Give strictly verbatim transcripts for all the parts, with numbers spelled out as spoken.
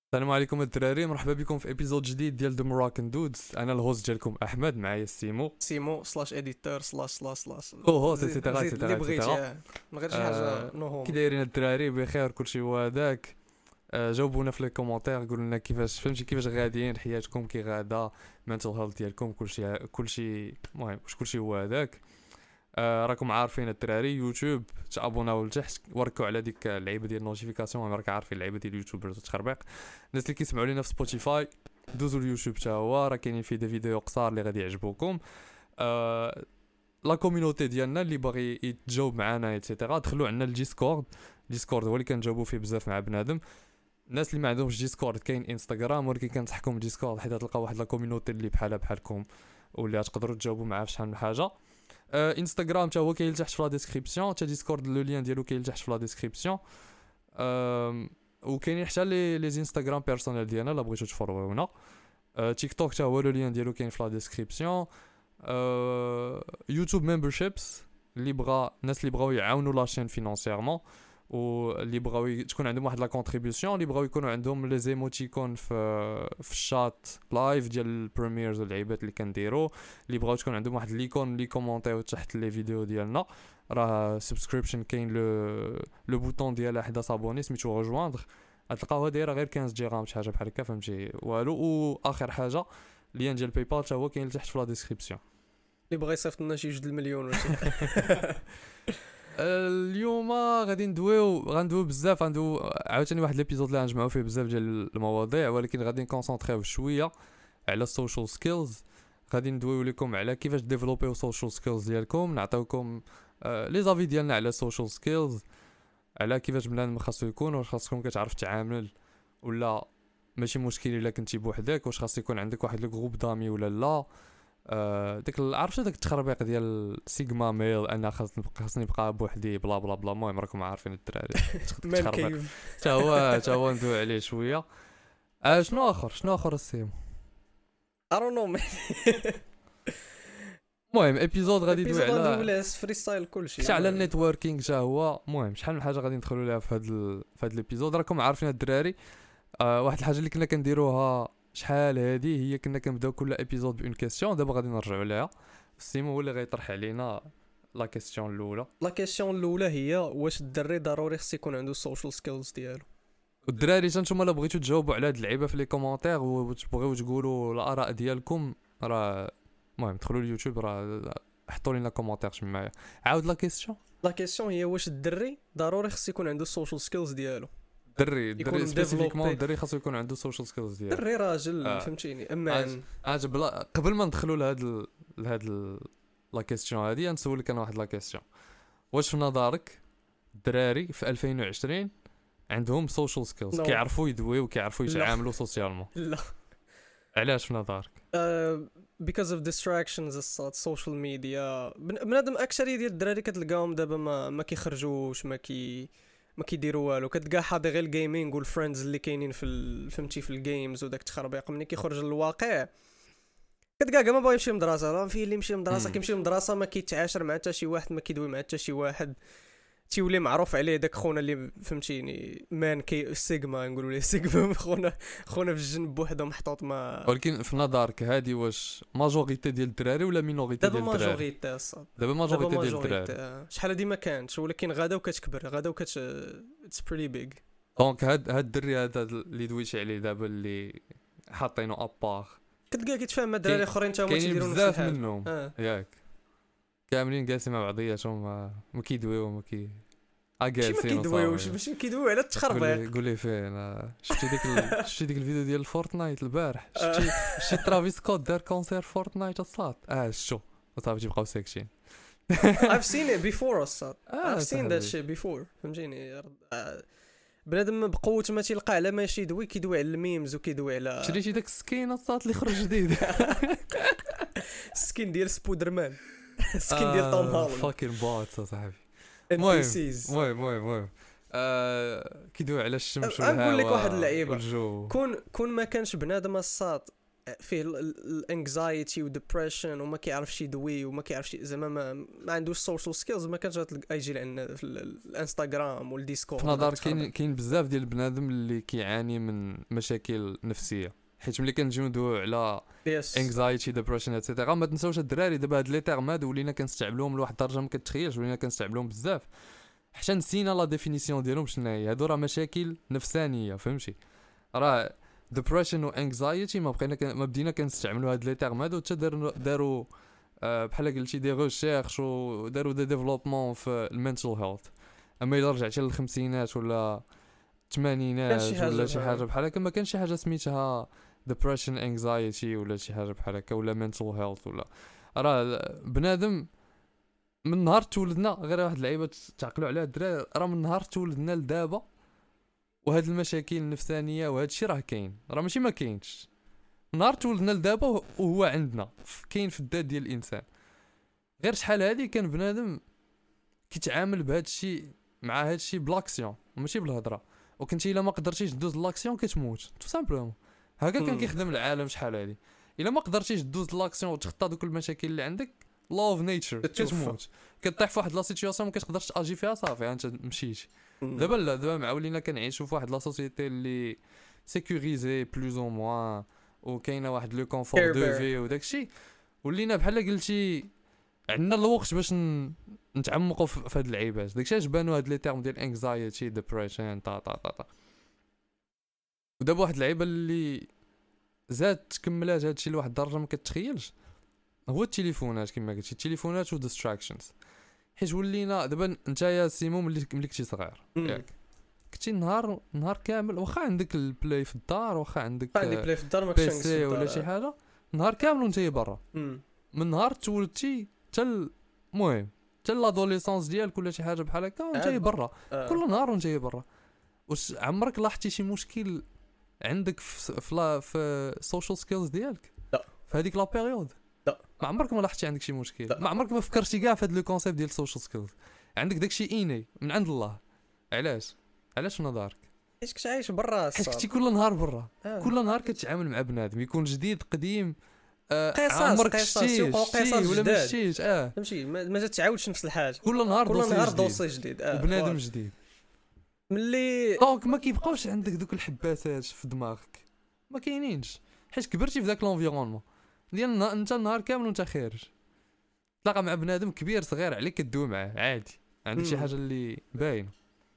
السلام عليكم الدراري، مرحبا بكم في ابيزود جديد ديال ذا مراكن دودز. انا الهوست ديالكم احمد، معايا السيمو سيمو سلاش اديتور سلاش سلاش سلاش كو هوست زيد ايتترا زيد اللي ايتترا بغيتي. ايتترا. آه. من غير شي حاجه آه، كي نوهم. دايرين الدراري؟ بخير كلشي هو هذاك. آه، جاوبونا في لي كومونتير، قولوا لنا كيفاش فهمتي، كيفاش غاديين حياتكم، كي غادا المنتل هيلث ديالكم، كلشي كلشي المهم واش كلشي هو هذاك. آه، راكم عارفين الدراري، يوتيوب تابوناو لتحت، وركوا على ديك اللعيبه ديال النوتيفيكاسيون، راك عارفين اللعيبه ديال اليوتيوبرز وتخربيق. الناس اللي كيسمعوا لينا في سبوتيفاي دوزوا اليوتيوب حتى هو، راه كاينين فيه دي فيديو قصار اللي غادي يعجبوكم. آه لا كوميونيتي ديالنا اللي باغي يتجاوب معنا ايتترا، دخلوا عندنا الديسكورد. ديسكورد هو اللي كنجاوبوا فيه بزاف مع بنادم. الناس اللي ما عندهمش ديسكورد كاين انستغرام، ولكن كنصحكم ديسكورد حيت تلقى واحد لا كوميونيتي اللي بحالها بحالكم واللي تقدروا تجاوبوا معاه في شحال من حاجه. آه انستغرام حتى هو كاين تحت في لا ديسكريبسيون، حتى ديسكورد لو لين ديالو كاين تحت في لا ديسكريبسيون. آه وكاينين حتى لي لي انستغرام بيرسونيل ديالنا الا بغيتو تفولوونا. آه تيك توك حتى هو لو لين ديالو كاين في لا ديسكريبسيون. آه يوتيوب ممبرشيبس اللي بغا الناس اللي بغاو يعاونوا لاشين فينانسيرمون، واللي بغاو ي- تكون عندهم واحد لا كونتريبيوشن، اللي بغاو يكونوا عندهم لي زيموتيكون في في الشات لايف ديال البريميرز واللعيبات اللي كنديروا، اللي بغاو تكون عندهم واحد ليكون اللي كومونتيو تحت لي فيديو ديالنا. راه سبسكريبشن كاين لو لو بوطون ديالها حدا صابوني سميتو ريجواندر، غتلقاوها دايره غير خمسة درهم شي حاجه بحال هكا، فهمتي والو. واخر حاجه لين ديال باي بال حتى هو كاين تحت في لا ديسكريبسيون. اللي بغى يصيفط لنا شي جوج المليون ولا شي. اليوم غادي ندويو غندويو بزاف، غندويو عاوتاني واحد ليبيزود اللي غنجمعوا فيه بزاف ديال المواضيع، ولكن غادي نكونسونطريو شويه على السوشيال سكيلز. غادي ندويو لكم على كيفاش ديفلوبيو السوشيال سكيلز ديالكم، نعطيوكم آه لي زافي ديالنا على السوشيال سكيلز، على كيفاش بنادم خاصو يكون، واش خاصكم كتعرف تعامل ولا ماشي مشكل الا كنتي بوحدك، واش خاص يكون عندك واحد الجروب دامي ولا لا. آه داك عرفتي داك التخربيق ديال سيجما ميل، انا خاصني نبقى خاصني نبقى بوحدي بلا بلا بلا. المهم راكم عارفين الدراري مان التخربيق كيف. حتى هو حتى هو ندوي عليه شويه. آه شنو اخر شنو اخر السيم. I don't know. المهم ابيزود غادي يدوي ايبيزود على ندوي فري ستايل كلشي حتى على النيتوركينغ حتى هو. المهم شحال من حاجه غادي ندخلوا ليها في هذا ال... في هذا الابيزود. راكم عارفين الدراري، آه واحد الحاجه اللي كنا كنديروها شحال هذه هي كنا كنبداو كل ابيزود بون كيسيون، دابا غادي نرجعوا ليها. السيمو هو اللي غيطرح علينا لا كيسيون الاولى. لا كيسيون الاولى هي واش الدري ضروري خص يكون عنده السوشيال سكيلز ديالو. والدراري نتوما الا بغيتو تجاوبوا على هاد اللعيبه في لي كومونتير وتبغيو تقولوا الاراء ديالكم، راه المهم دخلوا اليوتيوب، راه حطوا لنا كومونتير معايا. عاود لا كيسيون. لا كيسيون هي واش الدري ضروري خص يكون عنده السوشيال سكيلز ديالو. دري يكون دري سبيسيفيكمون developé. دري خاصو يكون عنده سوشيال سكيلز ديالو. دري راجل آه. فهمتيني امان. عجب لا قبل ما ندخلوا لهاد ال... لهاد ال... لا كيسيون هادي، نسولك انا واحد لا كيسيون. واش في نظرك الدراري في ألفين وعشرين عندهم سوشيال سكيلز، No. كيعرفوا يدويو وكيعرفوا لا. يتعاملوا سوسيالمون؟ لا. علاش في نظرك؟ Uh, because of distractions الصاد social media. بن- بنادم اكثريه ديال الدراري كتلقاهم دابا ما ما كيخرجوش، ما كي ما كيديروا والو، كتلقى حاضي غير الجيمنج والفريندز اللي كاينين في ال... فهمتي في الجيمز وداك التخربيق. ملي كيخرج للواقع كتلقى كاع ما باغي يمشي للمدرسه، راه فيه اللي يمشي للمدرسه مم. كيمشي للمدرسه ما كيتعاشر مع حتى شي واحد، ما كيدوي مع حتى شي واحد، تيولي معروف عليه داك خونا اللي فهمتيني مان كي سيجما نقولوا ليه سيجما. خونا خونا في الجنب بوحدو محطوط ما. ولكن في نظرك هادي واش ماجوريتي ديال الدراري ولا مينوريتي دابا ديال الدراري؟ ماجوريتي الصاد. دابا دابا ماجوريتي ديال الدراري. ماجوريتي شحال هادي ما كانتش، ولكن غادا وكتكبر غادا وكت اتس بريتي بيج. دونك هاد هاد الدري هذا اللي دويتي عليه دابا اللي حاطينو ابار، كتلقى كيتفاهم مع الدراري اخرين تا هما كاينين تيديروا نفس بزاف الحاجه. منهم اه ياك كاملين جالسين مع بعضياتهم، ما ما كيدويو ما كي ماشي ما كيدويوش، ماشي كيدويو على التخربيق. قول لي فين. آه، شفتي ديك ال... شفتي ديك الفيديو ديال فورتنايت البارح؟ شفتي شفتي ترافيس سكوت دار كونسير فورتنايت الصاد؟ اه شو صافي تيبقاو ساكتين. I've seen it before الصاد. آه، I've seen that shit before فهمتيني. آه، بنادم بقوه ما تيلقى على ماشي يدوي، كيدوي على الميمز وكيدوي على شريتي داك السكين الصاد اللي خرج جديد؟ السكين ديال سبودرمان. السكين ديال توم هولاند. فاكين بوت صاحبي. المهم المهم المهم المهم آه كيدوي على الشمس أه، نقول لك والهواء واحد اللعيبة. والجو. كون كون ما كانش بنادم الصاد فيه الانكزايتي وديبريشن وما كيعرفش يدوي وما كيعرفش زعما ما, ما عندوش سوشيال سكيلز ما كانش يجي لعنا في الانستغرام والديسكورد. في نظر كاين كاين بزاف ديال البنادم اللي كيعاني من مشاكل نفسيه، حيت ملي كنجيو ندويو على انكزايتي ديبريشن اتسيتيرا ما تنساوش الدراري دابا هاد لي تيرم هادو ولينا كنستعملوهم لواحد الدرجه ما كتخيلش، ولينا كنستعملوهم بزاف حتى نسينا لا ديفينيسيون ديالهم شنو هي. هادو راه مشاكل نفسانيه فهمتي، راه ديبريشن و انكزايتي ما بقينا ما بدينا كنستعملوا هاد لي تيرم هادو حتى داروا داروا أه بحال قلتي دي ريشيرش وداروا دي ديفلوبمون في المينتال هيلث. اما الا رجعتي للخمسينات ولا الثمانينات ولا شي حاجه بحال هكا ما كانش شي حاجه سميتها ديبريشن انكزايتي ولا شي حاجه بحال هكا ولا مينتال هيلث ولا. راه بنادم من نهار تولدنا غير واحد اللعيبه تعقلوا عليها الدراري، راه من نهار تولدنا لدابا وهاد المشاكل النفسانيه وهاد الشيء راه كاين، راه ماشي ما كاينش. نهار تولدنا لدابا وهو عندنا كاين في الذات ديال الانسان. غير شحال هادي كان بنادم كيتعامل بهاد الشيء مع هاد الشيء بلاكسيون وماشي بالهضره، وكنتي الا ما قدرتيش دوز لاكسيون كتموت تو سامبلومون. هكا كان كيخدم العالم شحال هادي. الا ما قدرتيش دوز لاكسيون وتخطى دوك المشاكل اللي عندك لا اوف نيتشر كتموت، كطيح في واحد لا سيتوياسيون ما كتقدرش تاجي فيها صافي انت مشيتي. دابا لا دابا معولينا كنعيشوا في واحد لا سوسيتي اللي سيكوريزي بلوز او موان وكاينه واحد لو كونفور دو في وداكشي، ولينا بحال قلتي عندنا الوقت باش نتعمقوا في هاد اللعيبات. داكشي اش بانوا هاد لي تيرم ديال انكزايتي ديبريشن تا تا تا ودابا واحد اللعيبه اللي زاد تكملات هادشي لواحد الدرجه ما كتخيلش هو التليفونات. كما قلتي التليفونات وديستراكشنز، حيت ولينا دابا انت يا سيمو ملي ملي كنتي صغير ياك كنتي نهار نهار كامل واخا عندك البلاي في الدار واخا عندك عندي بلاي في الدار ما كنتش بيسي ولا شي حاجه نهار كامل وانت برا. من نهار تولدتي حتى المهم حتى لادوليسونس ديالك ولا شي حاجه بحال هكا وانت برا آه. كل نهار وانت برا. واش عمرك لاحظتي شي مشكل عندك في في, في السوشيال سكيلز ديالك؟ لا في هذيك لا بيريود لا ما عمرك ما لاحظتي عندك شي مشكل؟ لا. ما عمرك ما فكرتي كاع في هذا لو كونسيبت ديال السوشيال سكيلز؟ عندك داكشي ايني من عند الله. علاش علاش نظرك؟ حيت كنت عايش برا حيت كنتي كل نهار برا آه. كل نهار كتعامل مع بنادم يكون جديد قديم آه عمرك شتي ولا ما شتيش اه فهمتي ما تتعاودش نفس الحاجه كل نهار كل نهار دوسي جديد آه. وبنادم جديد ملي دونك ما كيبقاوش عندك دوك الحباسات في دماغك ما كاينينش حيت كبرتي في ذاك لونفيرونمون ديال انت النهار كامل وانت خارج تلاقى مع بنادم كبير صغير عليك كدوي معاه عادي عندك شي حاجه اللي باينه.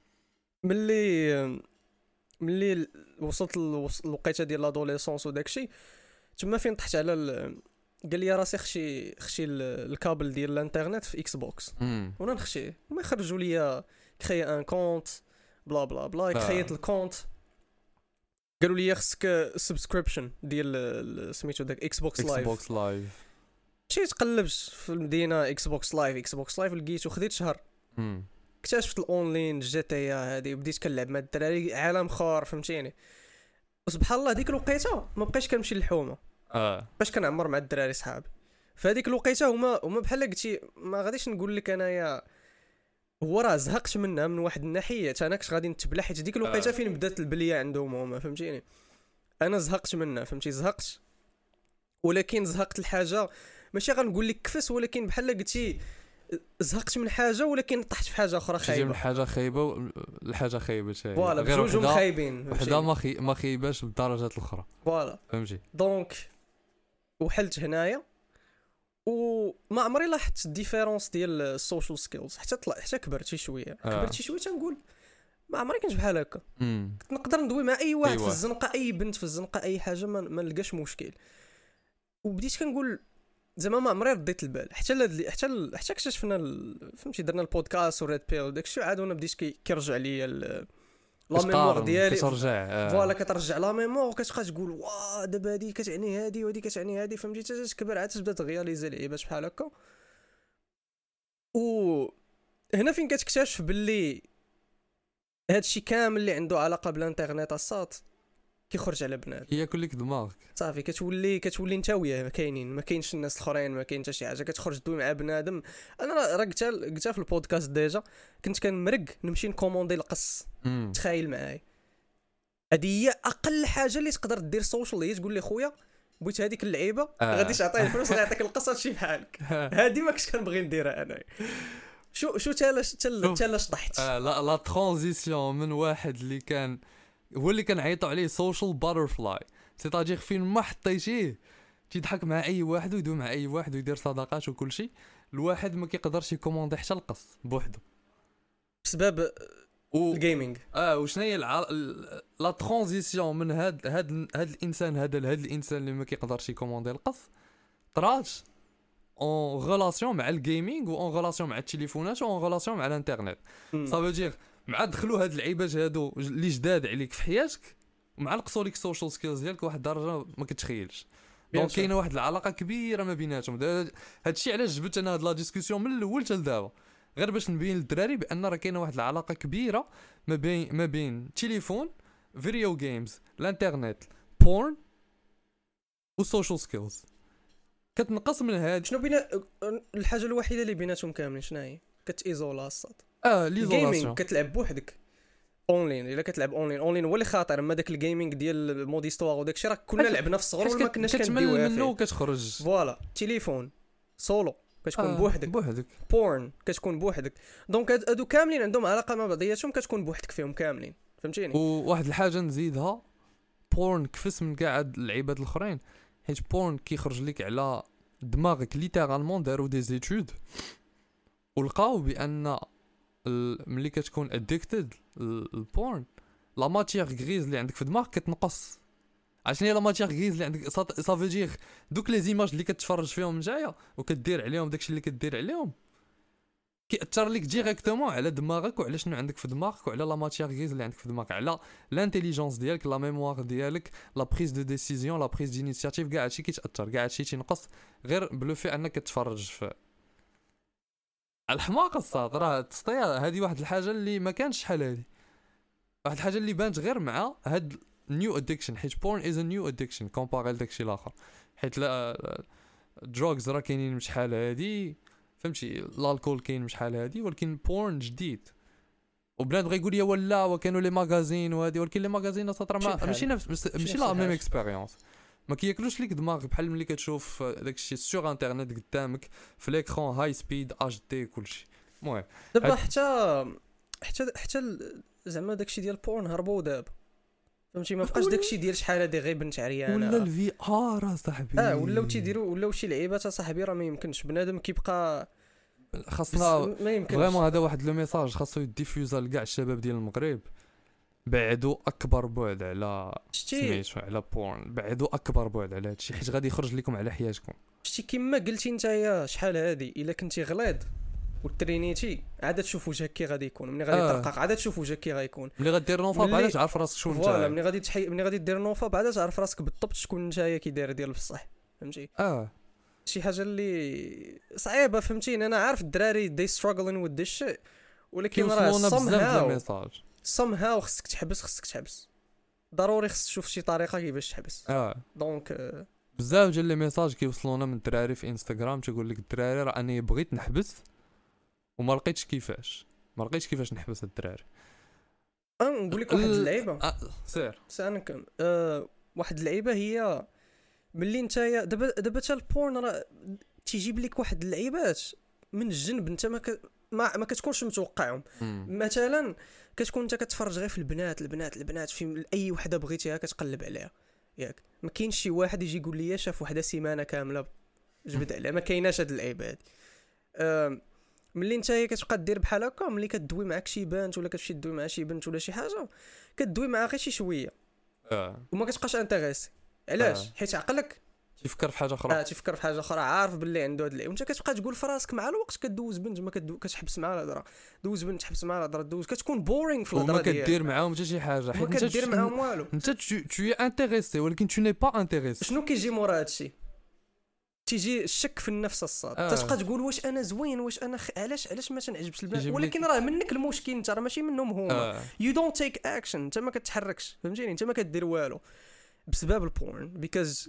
ملي ملي وصلت الوقيته ديال لادوليسونس وداكشي تما فين طحت على ال... قال لي راسي خشي خشي الكابل ديال الانترنت في اكس بوكس وانا نخشي ما يخرجوا لي كري ان كونت بلا بلا بلا كرييت الكونت قالوا لي خصك سبسكريبشن ديال سميتو داك اكس بوكس لايف اكس بوكس لايف مشيت قلبت في المدينه اكس بوكس لايف اكس بوكس لايف لقيتو خديت شهر امم اكتشفت الاونلاين جي تي اي هذه بديت كنلعب مع الدراري عالم خار فهمتيني. وسبحان الله ديك الوقيته ما بقيتش كنمشي للحومه اه باش كنعمر مع الدراري صحابي فهذيك الوقيته هما هما بحال قلتي ما غاديش نقول لك انايا هو راه زهقت منها من واحد الناحيه انا كنت غادي نتبلع حيت ديك الوقيته آه. فين بدات البليه عندهم هما فهمتيني انا زهقت منها فهمتي زهقت ولكن زهقت الحاجه ماشي غنقول لك كفس ولكن بحال قلتي زهقت من حاجه ولكن طحت في حاجه اخرى خايبه من حاجه خايبه لحاجه خايبه شي فوالا بجوجهم خايبين وحده ما خي... ما خيباش بالدرجات الاخرى فوالا فهمتي. دونك وحلت هنايا وما عمري لاحظت الديفيرونس ديال السوشيال سكيلز حتى طلع حتى كبرت شي شويه آه. كبرت شي شويه تنقول ما عمري كنت بحال هكا كنت نقدر ندوي مع اي واحد أيوة. في الزنقه اي بنت في الزنقه اي حاجه ما, ما نلقاش مشكل وبديت كنقول زعما ما عمري رديت البال حتى ل... حتى ل... حتى اكتشفنا ال... فهمتي درنا البودكاست وريد بيل وداك الشيء عاد وانا بديت كي... كيرجع لي ال... لا ميموار ديالي كترجع فوالا كترجع لا ميموار وكتبقى تقول واه دابا هادي كتعني هادي وهادي كتعني هادي فهمتي حتى تكبر عاد تبدا تغياليزي لعيبات بحال هكا. و هنا فين كتكتشف باللي هادشي كامل اللي عنده علاقه بالانترنت الساط كيخرج على بنات ياكل لك دماغك صافي كتولي كتولي انت وياه ما كاينين ما كاينش الناس الاخرين ما كاين حتى شي حاجه كتخرج دوي مع بنادم. انا راه قلتها قلتها في البودكاست ديجا كنت كنمرق نمشي نكوموندي القص تخيل معايا هذه هي اقل حاجه اللي تقدر دير سوشيال هي تقول لي خويا بغيت هذيك اللعيبه آه. غادي تعطيه الفلوس غيعطيك القصه شي بحالك. هذه ما كنتش كنبغي نديرها انا. شو شو تالاش تال تالاش طحت. آه لا لا ترانزيسيون من واحد اللي كان هو اللي كنعيطوا عليه سوشيال باترفلاي، سيتاجير فين ما حطيتيه تيضحك مع اي واحد ويدوي مع اي واحد ويدير صداقات وكل شيء، الواحد ما كيقدرش يكوموندي حتى القص بوحدو بسبب و... الجيمنج. اه وشنو هي الع... لا ترانزيسيون من هاد هاد هاد الانسان هذا لهاد الانسان اللي ما كيقدرش يكوموندي القص طرات اون ريلاسيون مع الجيمنج و اون ريلاسيون مع التليفونات و اون ريلاسيون مع الانترنت. صافي دير مع دخلوا هاد اللعيبات هادو اللي جداد عليك في حياتك ومع نقصوا لك السوشيال سكيلز ديالك واحد الدرجه ما كتخيلش. دونك كاينه واحد العلاقه كبيره ما بيناتهم. هادشي علاش جبت انا هاد لا ديسكوسيون من الاول حتى لدابا، غير باش نبين للدراري بان راه كاينه واحد العلاقه كبيره ما بين ما بين التليفون، فيديو جيمز، الانترنت، بورن والسوشيال سكيلز. كتنقص من هاد شنو بينا الحاجه الوحيده اللي بيناتهم كاملين شنو هي؟ كتيزولا الصاد. اه ليزولاسيون. كتلعب بوحدك اونلاين. الا كتلعب اونلاين اونلاين هو اللي خاطر. اما داك الجيمنج ديال مود هيستوار وداك الشيء راه كنا لعبنا في الصغر وما كناش كنديوها منه وكتخرج. فوالا تليفون سولو كتكون آه بوحدك بوحدك بورن كتكون بوحدك. دونك هادو كاملين عندهم علاقه مع بعضياتهم كتكون بوحدك فيهم كاملين فهمتيني. وواحد الحاجه نزيدها بورن كفس من كاع هاد اللعيبات الاخرين حيت بورن كيخرج لك على دماغك ليترالمون داروا دي زيتود ولقاو بان ملي كتكون اديكتد البورن لا ماتيير غريز اللي عندك في دماغك كتنقص. عشان هي لا ماتيير غريز اللي عندك صافي دير دوك لي زيماج اللي كتفرج فيهم نتايا وكدير عليهم داكشي اللي كدير عليهم كيأثر لك ديريكتومون على دماغك وعلى شنو عندك في دماغك وعلى لا ماتيير غريز اللي عندك في دماغك، على لانتيليجونس ديالك، لا ميموار ديالك، لا بريز دو ديسيزيون، لا بريز دينيسياتيف، كاع هادشي كيتاثر، كاع هادشي تينقص غير بلو في انك كتفرج في الحماقه الصاد. راه تسطيا هذه واحد الحاجه اللي ما كانش شحال هذه، واحد الحاجه اللي بانت غير مع هاد نيو ادكشن حيت بورن از ا نيو ادكشن كومباري لداكشي الاخر. حيت لا دروغز راه كاينين شحال هادي فهمتي، الالكول كاين شحال هادي، ولكن بورن جديد وبنادم غيقول لي ولا وكانوا لي ماغازين وهادي، ولكن لي ماغازين سطر ماشي نفس ماشي لا ميم اكسبيريونس، ما كياكلوش ليك دماغك بحال ملي كتشوف داكشي سور انترنت قدامك في ليكرون هاي سبيد اش دي كلشي. المهم دابا حتى حتى حتى زعما داكشي ديال بورن هربوا دابا فهمتي، ما بقاش داكشي ديال شحال هادي غير بنت عريانه ولا الفي ار صاحبي اه ولاو تيديروا ولاو شي لعيبات صاحبي راه ما يمكنش بنادم كيبقى خاصنا ما يمكنش فريمون. هذا واحد لو ميساج خاصو يديفيوزا لكاع الشباب ديال المغرب، بعدوا اكبر بعد على سميتو على بورن، بعدوا اكبر بعد على هادشي حيت غادي يخرج لكم على حياتكم. شتي كيما قلتي نتايا شحال هادي الا كنتي غليظ وترينيتي عاد تشوف وجهك كي غادي يكون، ملي غادي آه. ترقق عاد تشوف وجهك كي غيكون، ملي غدير نوفا بعدا تعرف راسك شكون انت. فوالا ملي غادي تحي ملي غادي دير نوفا بعدا تعرف راسك بالضبط شكون نتايا كي داير ديال بصح فهمتي. اه شي حاجه اللي صعيبه فهمتيني. انا عارف الدراري دي struggling with this shit ولكن راه somehow somehow خصك تحبس خصك تحبس ضروري خصك تشوف شي طريقه كيفاش تحبس. اه دونك آه. بزاف ديال لي ميساج كيوصلونا من الدراري في انستغرام تيقول لك الدراري راه انا بغيت نحبس وما لقيتش كيفاش ما لقيتش كيفاش نحبس الدراري. اه نقول لك واحد اللعيبه آه. سير سانك آه. واحد اللعيبه هي ملي نتايا دابا دابا حتى البورن راه تيجيب لك واحد اللعيبات من الجنب انت ما ك... ما, ما كتكونش متوقعهم. مثلا كتكون انت كتفرج غير في البنات البنات البنات في اي وحده بغيتيها كتقلب عليها ياك، ما كاينش شي واحد يجي يقول لي شاف وحده سيمانه كامله جبد عليها، ما كايناش هاد اللعيبه هادي. أه ملي نتايا كتبقى دير بحال هكا ملي كدوي معاك شي بنت ولا كتمشي تدوي مع شي بنت ولا شي حاجه كدوي معاها غير شي شويه اه وما كتبقاش انتريسي. علاش؟ آه. حيت عقلك تيفكر في حاجه اخرى اه تيفكر في حاجه اخرى عارف باللي عنده هاد اللعيب وانت كتبقى تقول في راسك مع الوقت كدوز بنت ما كدو كتحبس معها الهضره دوز بنت تحبس معها الهضره دوز كتكون بورينغ في الهضره ديالك، ما كدير معاهم حتى شي حاجه حيت انت كدير معاهم والو، انت تو اي انتريسي ولكن تو ني با انتريسي. شنو كيجي مورا هادشي؟ تيجي الشك في النفس الصاد آه. تتبقى تقول واش انا زوين واش انا خ... علاش علاش ما تنعجبش البنات، ولكن راه منك المشكل انت راه ماشي منهم هما. يو دونت تيك اكشن انت ما كتحركش فهمتيني، انت ما كدير والو بسبب البورن بيكوز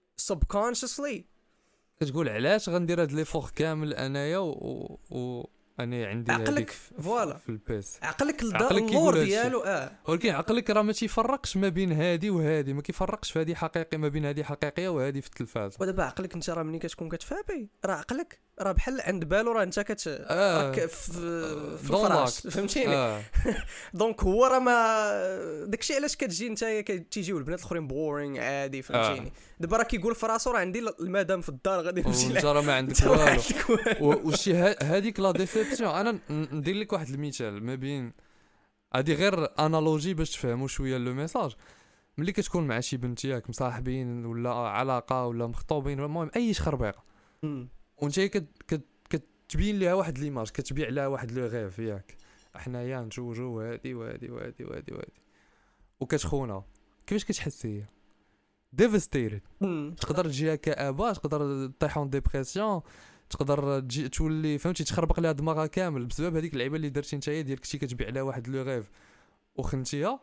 subconsciously كتقول علاش غندير هاد لي فور كامل انايا و, و... انا عندي عقلك هذيك في- فوالا. في البيس. عقلك الدا- عقلك كيقول اللور هادشي. ديالو اه ولكن عقلك راه ما تيفرقش ما بين هادي وهادي، ما كيفرقش في هادي حقيقي ما بين هادي حقيقيه وهادي في التلفاز. ودابا عقلك انت راه ملي كتكون كتفابي راه عقلك راه بحال عند بالو راه انت كت آه. راك في في دون الفراش لاك. فهمتيني. اه دونك هو راه ما داكشي علاش كتجي نتايا كتيجيو البنات الاخرين بورينغ عادي فهمتيني. دابا راه كيقول في راسو راه عندي المدام في الدار غادي نمشي وانت لها راه ما عندك انت راه ما والو. عندك والو. و- وشي ها- هذيك لا ديسيبسيون. انا ن- ندير لك واحد المثال ما بين هادي غير انالوجي باش تفهموا شويه لو ميساج. ملي كتكون مع شي بنت ياك مصاحبين ولا علاقه ولا مخطوبين المهم اي شخربيقه، مم. وانت كت كت كتبين ليها واحد ليماج، كتبيع لها واحد لو غيف ياك حنايا نتزوجوا وهادي وهادي وهادي وهادي وهادي وكتخونها، كيفاش كتحس هي؟ ديفستيرد. مم. تقدر تجيها كآبة، تقدر تطيح اون ديبرسيون، تقدر تجي تولي فهمتي تخربق لها دماغها كامل بسبب هذيك اللعيبه اللي درتي نتايا ديال كنتي كتبيع لها واحد لو غيف وخنتيها،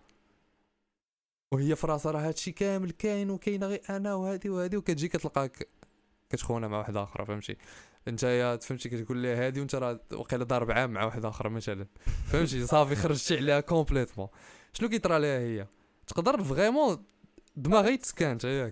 وهي في راسها راه هادشي كامل كاين وكاينه غير انا وهادي وهادي، وكتجي كتلقاك كتخونها مع واحده اخرى فهمتي. نتايا فهمتي كتقول لها هادي وانت راه وقيله ضارب عام مع واحده اخرى مثلا فهمتي، صافي خرجتي عليها كومبليتمون. شنو كيطرى لها هي؟ تقدر فريمون دماغها يتسكان ياك،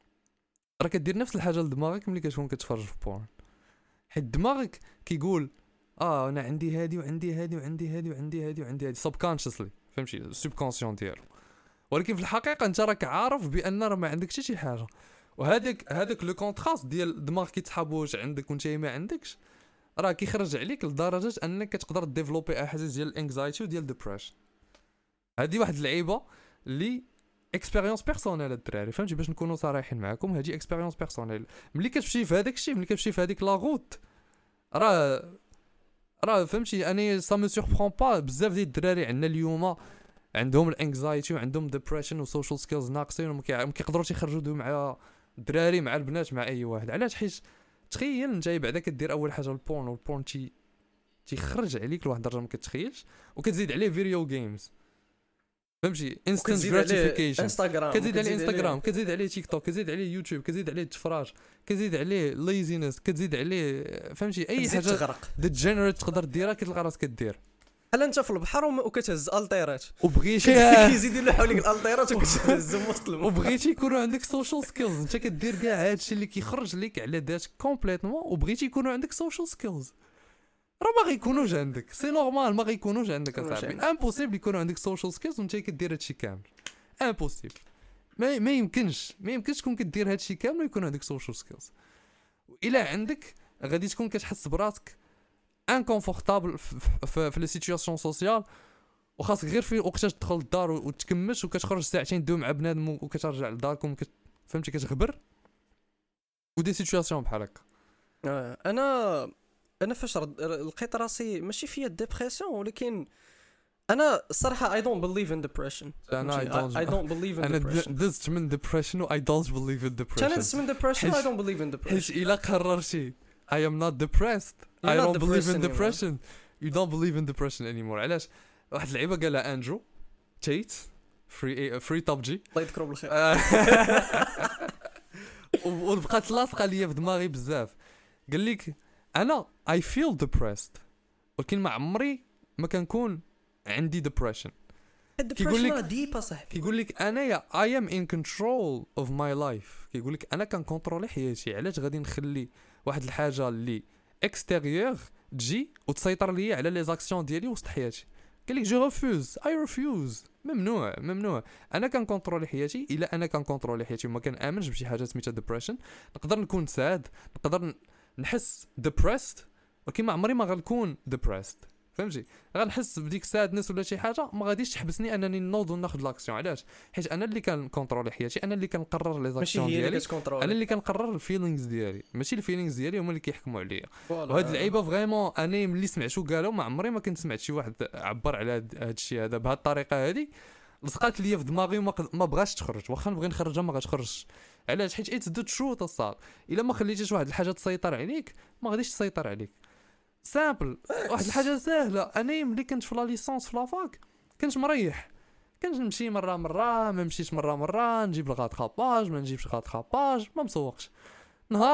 راه كدير نفس الحاجه لدماغك ملي كتكون كتفرج في بورن، حيت دماغك كيقول اه انا عندي هادي وعندي هادي وعندي هادي وعندي هادي وعندي هادي سبكونشسلي فهمتي السبكونسيون ديالو، ولكن في الحقيقه انت راك عارف بان راه ما عندكش شي حاجه. وهذاك هذاك لو كونتراست ديال الدماغ كيتحاب واش عندك وانت ما عندكش راه كيخرج عليك لدرجه انك كتقدر ديفلوبي احاسيس ديال الانكزايتي وديال الديبريشن. هذه واحد اللعيبه اللي اكسبيريونس بيرسونيل الدراري فهمتي، باش نكونوا صريحين معكم هذه اكسبيريونس بيرسونيل. ملي كتمشي في هذاك الشيء، ملي كتمشي في هذيك لا غوت راه راه فهمتي اني سا مو سوربرون با بزاف ديال الدراري عندنا اليوم عندهم الانكزايتي وعندهم ديبريشن وسوشيال سكيلز ناقصين وما كيقدروش يخرجوا دو مع الدراري مع البنات مع اي واحد. علاش؟ حيت تخيل انت بعدا كدير اول حاجه البورن، والبورن تي تيخرج عليك لواحد الدرجه ما كتخيلش، وكتزيد عليه فيديو جيمز فهمتي انستنت وكتزيد عليه جراتيفيكيشن، انستغرام، كتزيد عليه وكتزيد انستغرام، كتزيد عليه تيك توك، كتزيد عليه يوتيوب، كتزيد عليه التفراج، كتزيد عليه ليزينس، كتزيد عليه فهمتي اي كتزيد حاجه تغرق. ديجنريت تقدر ديرها كتلقى راسك كدير. بحال انت في البحر وم- وكتهز الطيرات وبغيتي كيزيدوا له حواليك الالطيرات وكتهزهم وسط الماء. وبغيتي يكونوا عندك سوشيال سكيلز، انت كدير كاع هادشي اللي كيخرج لك على ذاتك كومبليتمون، وبغيتي يكونوا عندك سوشيال سكيلز راه ما غيكونوش عندك، سي نورمال ما غيكونوش عندك اصاحبي. امبوسيبل يكونوا عندك سوشيال سكيلز وانت كدير هادشي كامل، امبوسيبل ما ما يمكنش ما يمكنش تكون كدير هادشي كامل ويكون عندك سوشيال سكيلز. الا عندك غادي تكون كتحس براسك انكونفورتابل في في لي سيتوياسيون سوسيال، وخاصك غير في وقتاش تدخل للدار وتكمش وكتخرج ساعتين دوم مع بنادم وكترجع لداركم كت... فهمتي كتغبر ودي سيتوياسيون بحال هكا. آه، انا انا فاش رد- لقيت راسي ماشي فيا ديبرسيون، ولكن انا الصراحه I don't believe in depression. انا I فهمتي؟ don't I don't believe in انا depression. دزت من ديبريشن و I don't believe in كان depression. دزت من depression I حيت- don't believe in depression. حيت الا قررتي I am not depressed I You're not don't believe in depressed depression you don't believe in depression anymore. علاش؟ واحد اللعيبه قالها اندرو تيت فري فري توب جي الله يذكره بالخير. وبقات لاصقه ليا في دماغي بزاف. قال لك انا I feel depressed ولكن ما عمري ما كنكون عندي depression. كيقول لك- الدبريشن ديب اصاحبي. كيقول لك انا يا I am in control of my life. كيقول لك انا كنكونترولي حياتي، علاش غادي نخلي واحد الحاجه اللي اكستيريور تجي وتسيطر ليا على لي زاكسيون ديالي وسط حياتي؟ قال لك جو ريفوز اي ريفوز ممنوع ممنوع. انا كنكونترولي حياتي، الا انا كنكونترولي حياتي وما كنامنش بشي حاجه سميتها ديبريشن، نقدر نكون ساد، نقدر ن- نحس ديبريست ولكن ما عمري ما غنكون ديبريست فهمتي. غنحس بديك سادنس ولا شي حاجه ما غاديش تحبسني انني نوض وناخذ لاكسيون. علاش؟ حيت انا اللي كنكونترولي حياتي، انا اللي كنقرر لي ماشي زاكسيون هي اللي ديالي، كتكونترول. انا اللي كنقرر الفيلينغز ديالي، ماشي الفيلينغز ديالي هما اللي كيحكموا عليا. فوالا. وهاد اللعيبه فريمون انا ملي سمعتو قالوا ما عمري ما كنت سمعت شي واحد عبر على هاد هاد الشيء هذا بهاد الطريقه هادي. لصقات ليا في دماغي وما قد- ما بغاش تخرج، واخا نبغي نخرجها ما غتخرجش. علاش؟ حيت اتس ذا تروث الصاد. الا ما خليتيش واحد الحاجه تسيطر عليك ما غاديش تسيطر عليك. سامبل واحد الحاجه سهله. انا ملي كنت في لا ليسونس في لافاك كنت مريح، كنت نمشي مره مره ما مشيتش مره مره، نجيب الغاط خاباج ما نجيبش غاط خاباج، ما مسوقش. نهار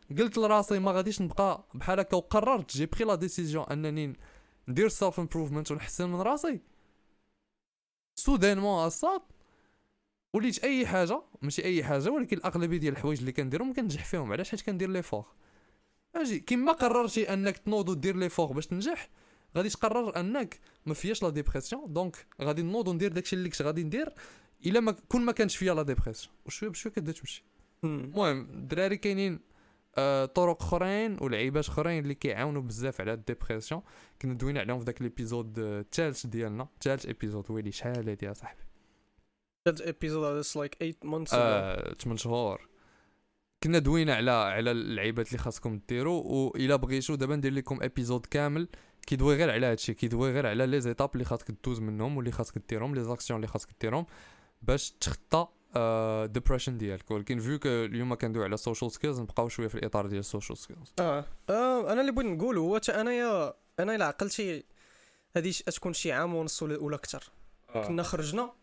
قلت لراسي ما غاديش نبقى بحال هكا وقررت جي بري لا ديسيجن انني ندير سيلف امبروفمنت ونحسن من راسي سودانمون اصاط وليت اي حاجه ماشي اي حاجه ولكن الاغلبيه ديال الحوايج اللي كنديرهم ما كنجح فيهم. علاش؟ حيت كندير لي فور. اجي كيما قررتي انك تنوض ودير لي فور باش تنجح غادي تقرر انك ما فياش لا ديبرسيون دونك غادي نوض وندير داكشي اللي كنت غادي ندير الا ما كون ما كانش فيا لا ديبرسيون وشويه بشويه كتبدا تمشي. المهم الدراري كاينين آه طرق اخرين ولعيبات اخرين اللي كيعاونوا بزاف على الديبرسيون. كنا دوينا عليهم في داك ليبيزود الثالث ديالنا الثالث ايبيزود ويلي شحال هادي يا صاحبي ثالث ايبيزود هذا لايك ثمانية مانثس اه ثمانية شهور كنا دوينا على على اللعيبات اللي خاصكم ديروا والا بغيتو دابا ندير لكم ايبيزود كامل كيدوي غير على هادشي كيدوي غير على لي زيتاب اللي خاصك دوز منهم واللي خاصك ديرهم لي زاكسيون اللي خاصك ديرهم باش تخطى ديبريشن ديالك. ولكن فيو كو اليوم كندوي على سوشيال سكيلز نبقاو شويه في الاطار ديال السوشيال سكيلز. اه, آه انا اللي بغيت نقول هو حتى انايا انا الا عقلتي هذه تكون شي عام ونص ولا اكثر آه. كنا خرجنا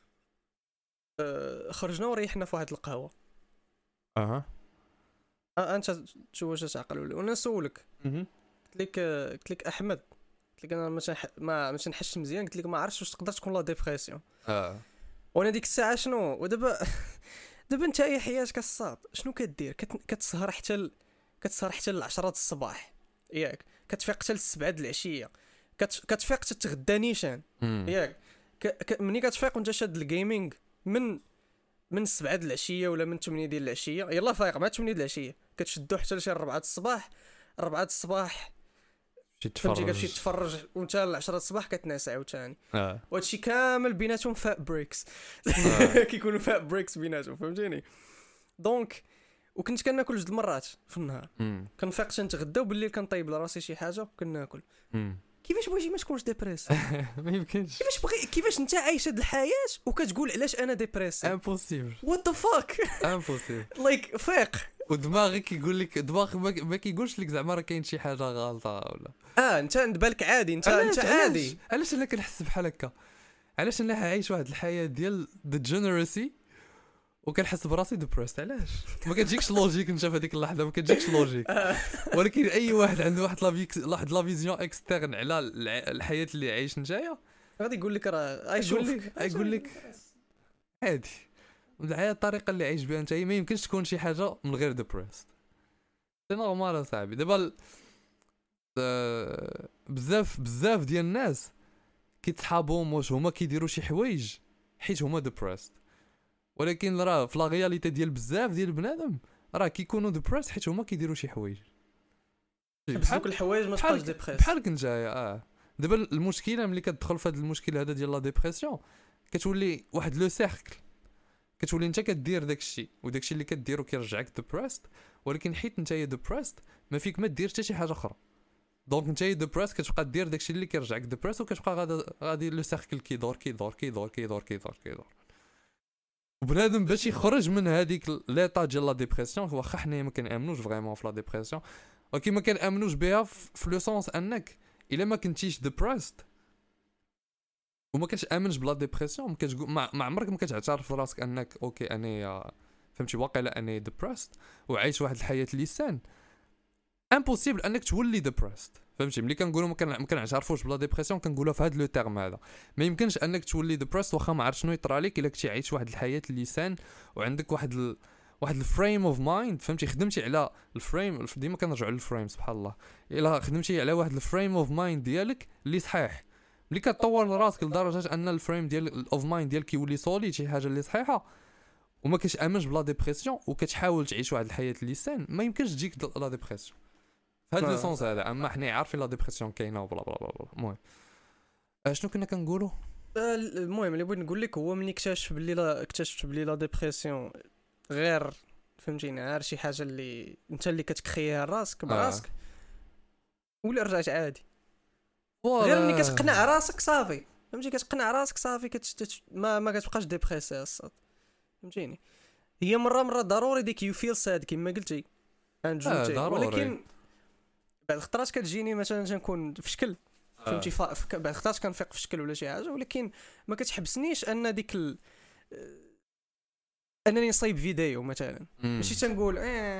آه خرجنا وريحنا في واحد القهوه اها آه انت شو واش تعقل ولا وانا نسولك قلت لك قلت لك احمد قلت لك انا ما ما ما تنحش مزيان قلت لك ما عرفتش واش تقدر تكون لا ديبرسيون اه وانا ديك الساعه شنو ودابا دابا انت اي حياتك الصاد شنو كدير كتسهر حتى ل... كتسهر حتى ل عشرة الصباح ياك كتفيق حتى ل سبعة د العشيه كت... كتفيق حتى تغدى نيشان ياك ك... ك... مني كتفيق وانت شاد الجيمنج من من سبعة د العشيه ولا من ثمانية ديال العشيه يلا فايق مع ثمانية د العشيه كتشدو حتى لشي أربعة د الصباح أربعة د الصباح فهمتي كتمشي تفرج وانت ل عشرة الصباح كتنعس عاوتاني اه وهادشي كامل بيناتهم فاء بريكس آه. كيكونوا فاء بريكس بيناتهم فهمتيني. دونك وكنت كناكل جوج المرات في النهار كنفيق تنتغدى وبالليل كنطيب لراسي شي حاجه وكناكل. كيفاش بغيتي ما تكونش ديبريس؟ ما يمكنش. كيفاش بغي كيفاش انت عايش هاد الحياه وكتقول علاش انا ديبريس؟ امبوسيبل وات ذا فاك امبوسيبل لايك فيق ودماغك كيقول لك دماغك ما كيقولش لك زعما راه كاين شي حاجه غلطه ولا اه انت بالك عادي انت انت عادي. علاش انا كنحس بحال هكا؟ علاش انا عايش واحد الحياه ديال ديجنرسي وكنحس براسي ديبريست؟ علاش ما كتجيكش لوجيك انت في هذيك اللحظه ما كتجيكش لوجيك. ولكن اي واحد عنده واحد واحد لا فيزيون اكسترن على الحياه اللي عايش نتايا غادي يقول لك راه يقول لك يقول لك عادي الحياه الطريقه اللي عايش بها انت ما يمكنش تكون شي حاجه من غير ديبريست. سي نورمال صاحبي. دابا بزاف بزاف ديال الناس كيتصحابهم واش هما كيديروا شي حوايج حيت هما ديبريست ولكن راه في لا رياليتي ديال بزاف ديال البنادم راه كيكونوا ديبريس حيت هما كيديروا شي حوايج بس دوك الحوايج ما تبقاش ديبريس بحالك نتايا. اه دابا المشكله ملي كتدخل في هذا المشكل هذا ديال لا ديبرسيون كتولي واحد لو سيركل كتولي انت كدير داك الشيء وداك الشيء اللي كديرو كيرجعك ديبريست ولكن حيت نتايا ديبريست ما فيك ما دير حتى شي حاجه اخرى دونك نتايا ديبريست كتبقى دير داك الشيء اللي كيرجعك ديبريست وكتبقى غادي غادي لو سيركل كيدور كيدور كيدور كيدور كيدور كيدور وبنادم باش يخرج من هذيك ليطا ديال لا ديبرسيون. واخا حنايا ما كنامنوش فريمون في لا ديبرسيون ولكن ما كنامنوش بها في لو سونس انك الا ما كنتيش ديبريست وما كتامنش بلا ديبرسيون ما كتقول ما عمرك ما كتعترف راسك انك اوكي انا فهمتي واقيلا انا ديبريست وعايش واحد الحياه اللي سان امبوسيبل انك تولي ديبريست. فهمتي ملي كنقولوا ما كنعترفوش بلا ديبرسيون كنقولها في هذا لو تيرم هذا ما يمكنش انك تولي ديبريست واخا ما عرفت شنو يطرى لك الا كنتي عايش واحد الحياه اللي سان وعندك واحد ال... واحد الفريم اوف مايند. فهمتي خدمتي على الفريم ديما كنرجعوا للفريم سبحان الله الا خدمتي على واحد الفريم اوف مايند ديالك اللي صحيح ملي كتطور راسك لدرجه ان الفريم ديال الاوف مايند ديالك كيولي سوليد شي حاجه اللي صحيحه وما كتامنش بلا ديبرسيون وكتحاول تعيش واحد الحياه اللي سان ما يمكنش تجيك لا ديبرسيون في هذا السونس هذا. اما حنا عارفين لا ديبرسيون كاينه وبلا بلا بلا. المهم شنو كنا كنقولوا؟ المهم اللي بغيت نقول لك هو ملي اكتشف باللي لا اكتشفت باللي لا ديبرسيون غير فهمتيني غير شي حاجه اللي انت اللي كتكريها راسك براسك آه. ولا رجعت عادي غير ملي كتقنع راسك صافي فهمتي كتقنع راسك صافي كت... ما ما كتبقاش ديبريسي الصاد فهمتيني. هي مره مره ضروري ديك يو فيل ساد كما قلتي آه ولكن بعد خطرات كتجيني مثلا تنكون في شكل فهمتي آه. ف... بعد خطرات كنفيق في شكل ولا شي حاجه ولكن ما كتحبسنيش ان ديك ال... انني نصايب فيديو مثلا ماشي تنقول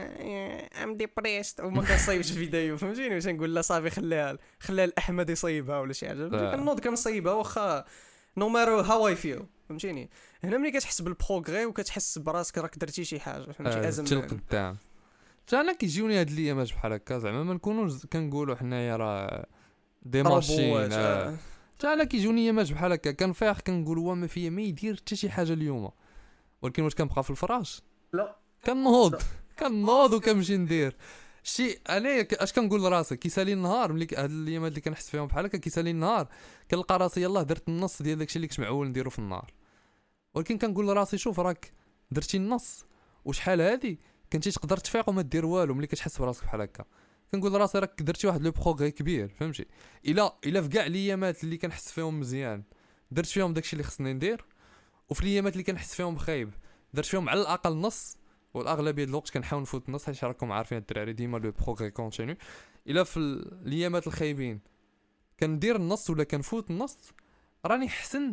ام ديبريست وما كنصايبش فيديو فهمتيني واش نقول لا صافي خليها خليها الاحمد يصايبها ولا شي حاجه كنوض كنصايبها واخا نو مارو هاو اي فيل فهمتيني. هنا ملي كتحس بالبروغري وكتحس براسك راك درتي شي حاجه فهمتي ازم قدام. انا كيجيوني هاد الايامات بحال هكا زعما ما نكونوش كنقولوا حنايا راه دي ماشين آه. انا كيجوني ايامات بحال هكا كنفيق كنقول هو ما فيا ما يدير حتى شي حاجه اليوم، ولكن واش كنبقى في الفراش لا كنوض كنوض وكنمشي ندير شي. انا اش كنقول لراسي كيسالي النهار ملي هاد الايامات اللي كنحس فيهم بحال هكا كيسالي النهار كنلقى راسي يلاه درت النص ديال داكشي اللي كنت معول نديرو في النهار، ولكن كنقول لراسي شوف راك درتي النص وشحال هادي كنتي تقدر تفيق وما دير والو. ملي كتحس براسك بحال هكا كنقول لراسي راك درتي واحد لو بروغري كبير فهمتي. الا الا في كاع الايامات اللي كنحس فيهم مزيان درت فيهم داكشي اللي خصني ندير، وفي الايامات اللي كنحس فيهم خايب درت فيهم على الاقل نص، والاغلبيه ديال الوقت كنحاول نفوت النص حيت راكم عارفين الدراري ديما لو بروغري كونتينيو. الا في الايامات الخايبين كندير النص ولا كنفوت النص راني حسن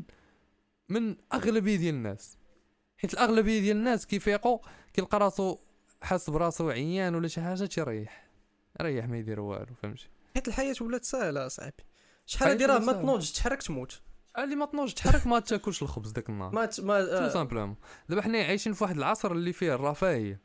من اغلبيه ديال الناس، حيت الاغلبيه ديال الناس كيفيقوا كيلقى راسو حاس براسو عيان ولا شي حاجه تيريح ريح ما يدير والو فهمتي. حيت الحياه ولات ساهله صاحبي، شحال هادي راه ما تنوضش تحرك تموت، شحال اللي ما تنوضش تحرك ما تاكلش الخبز داك النهار ما ما تو سامبلومون. دابا حنا عايشين في واحد العصر اللي فيه الرفاهيه،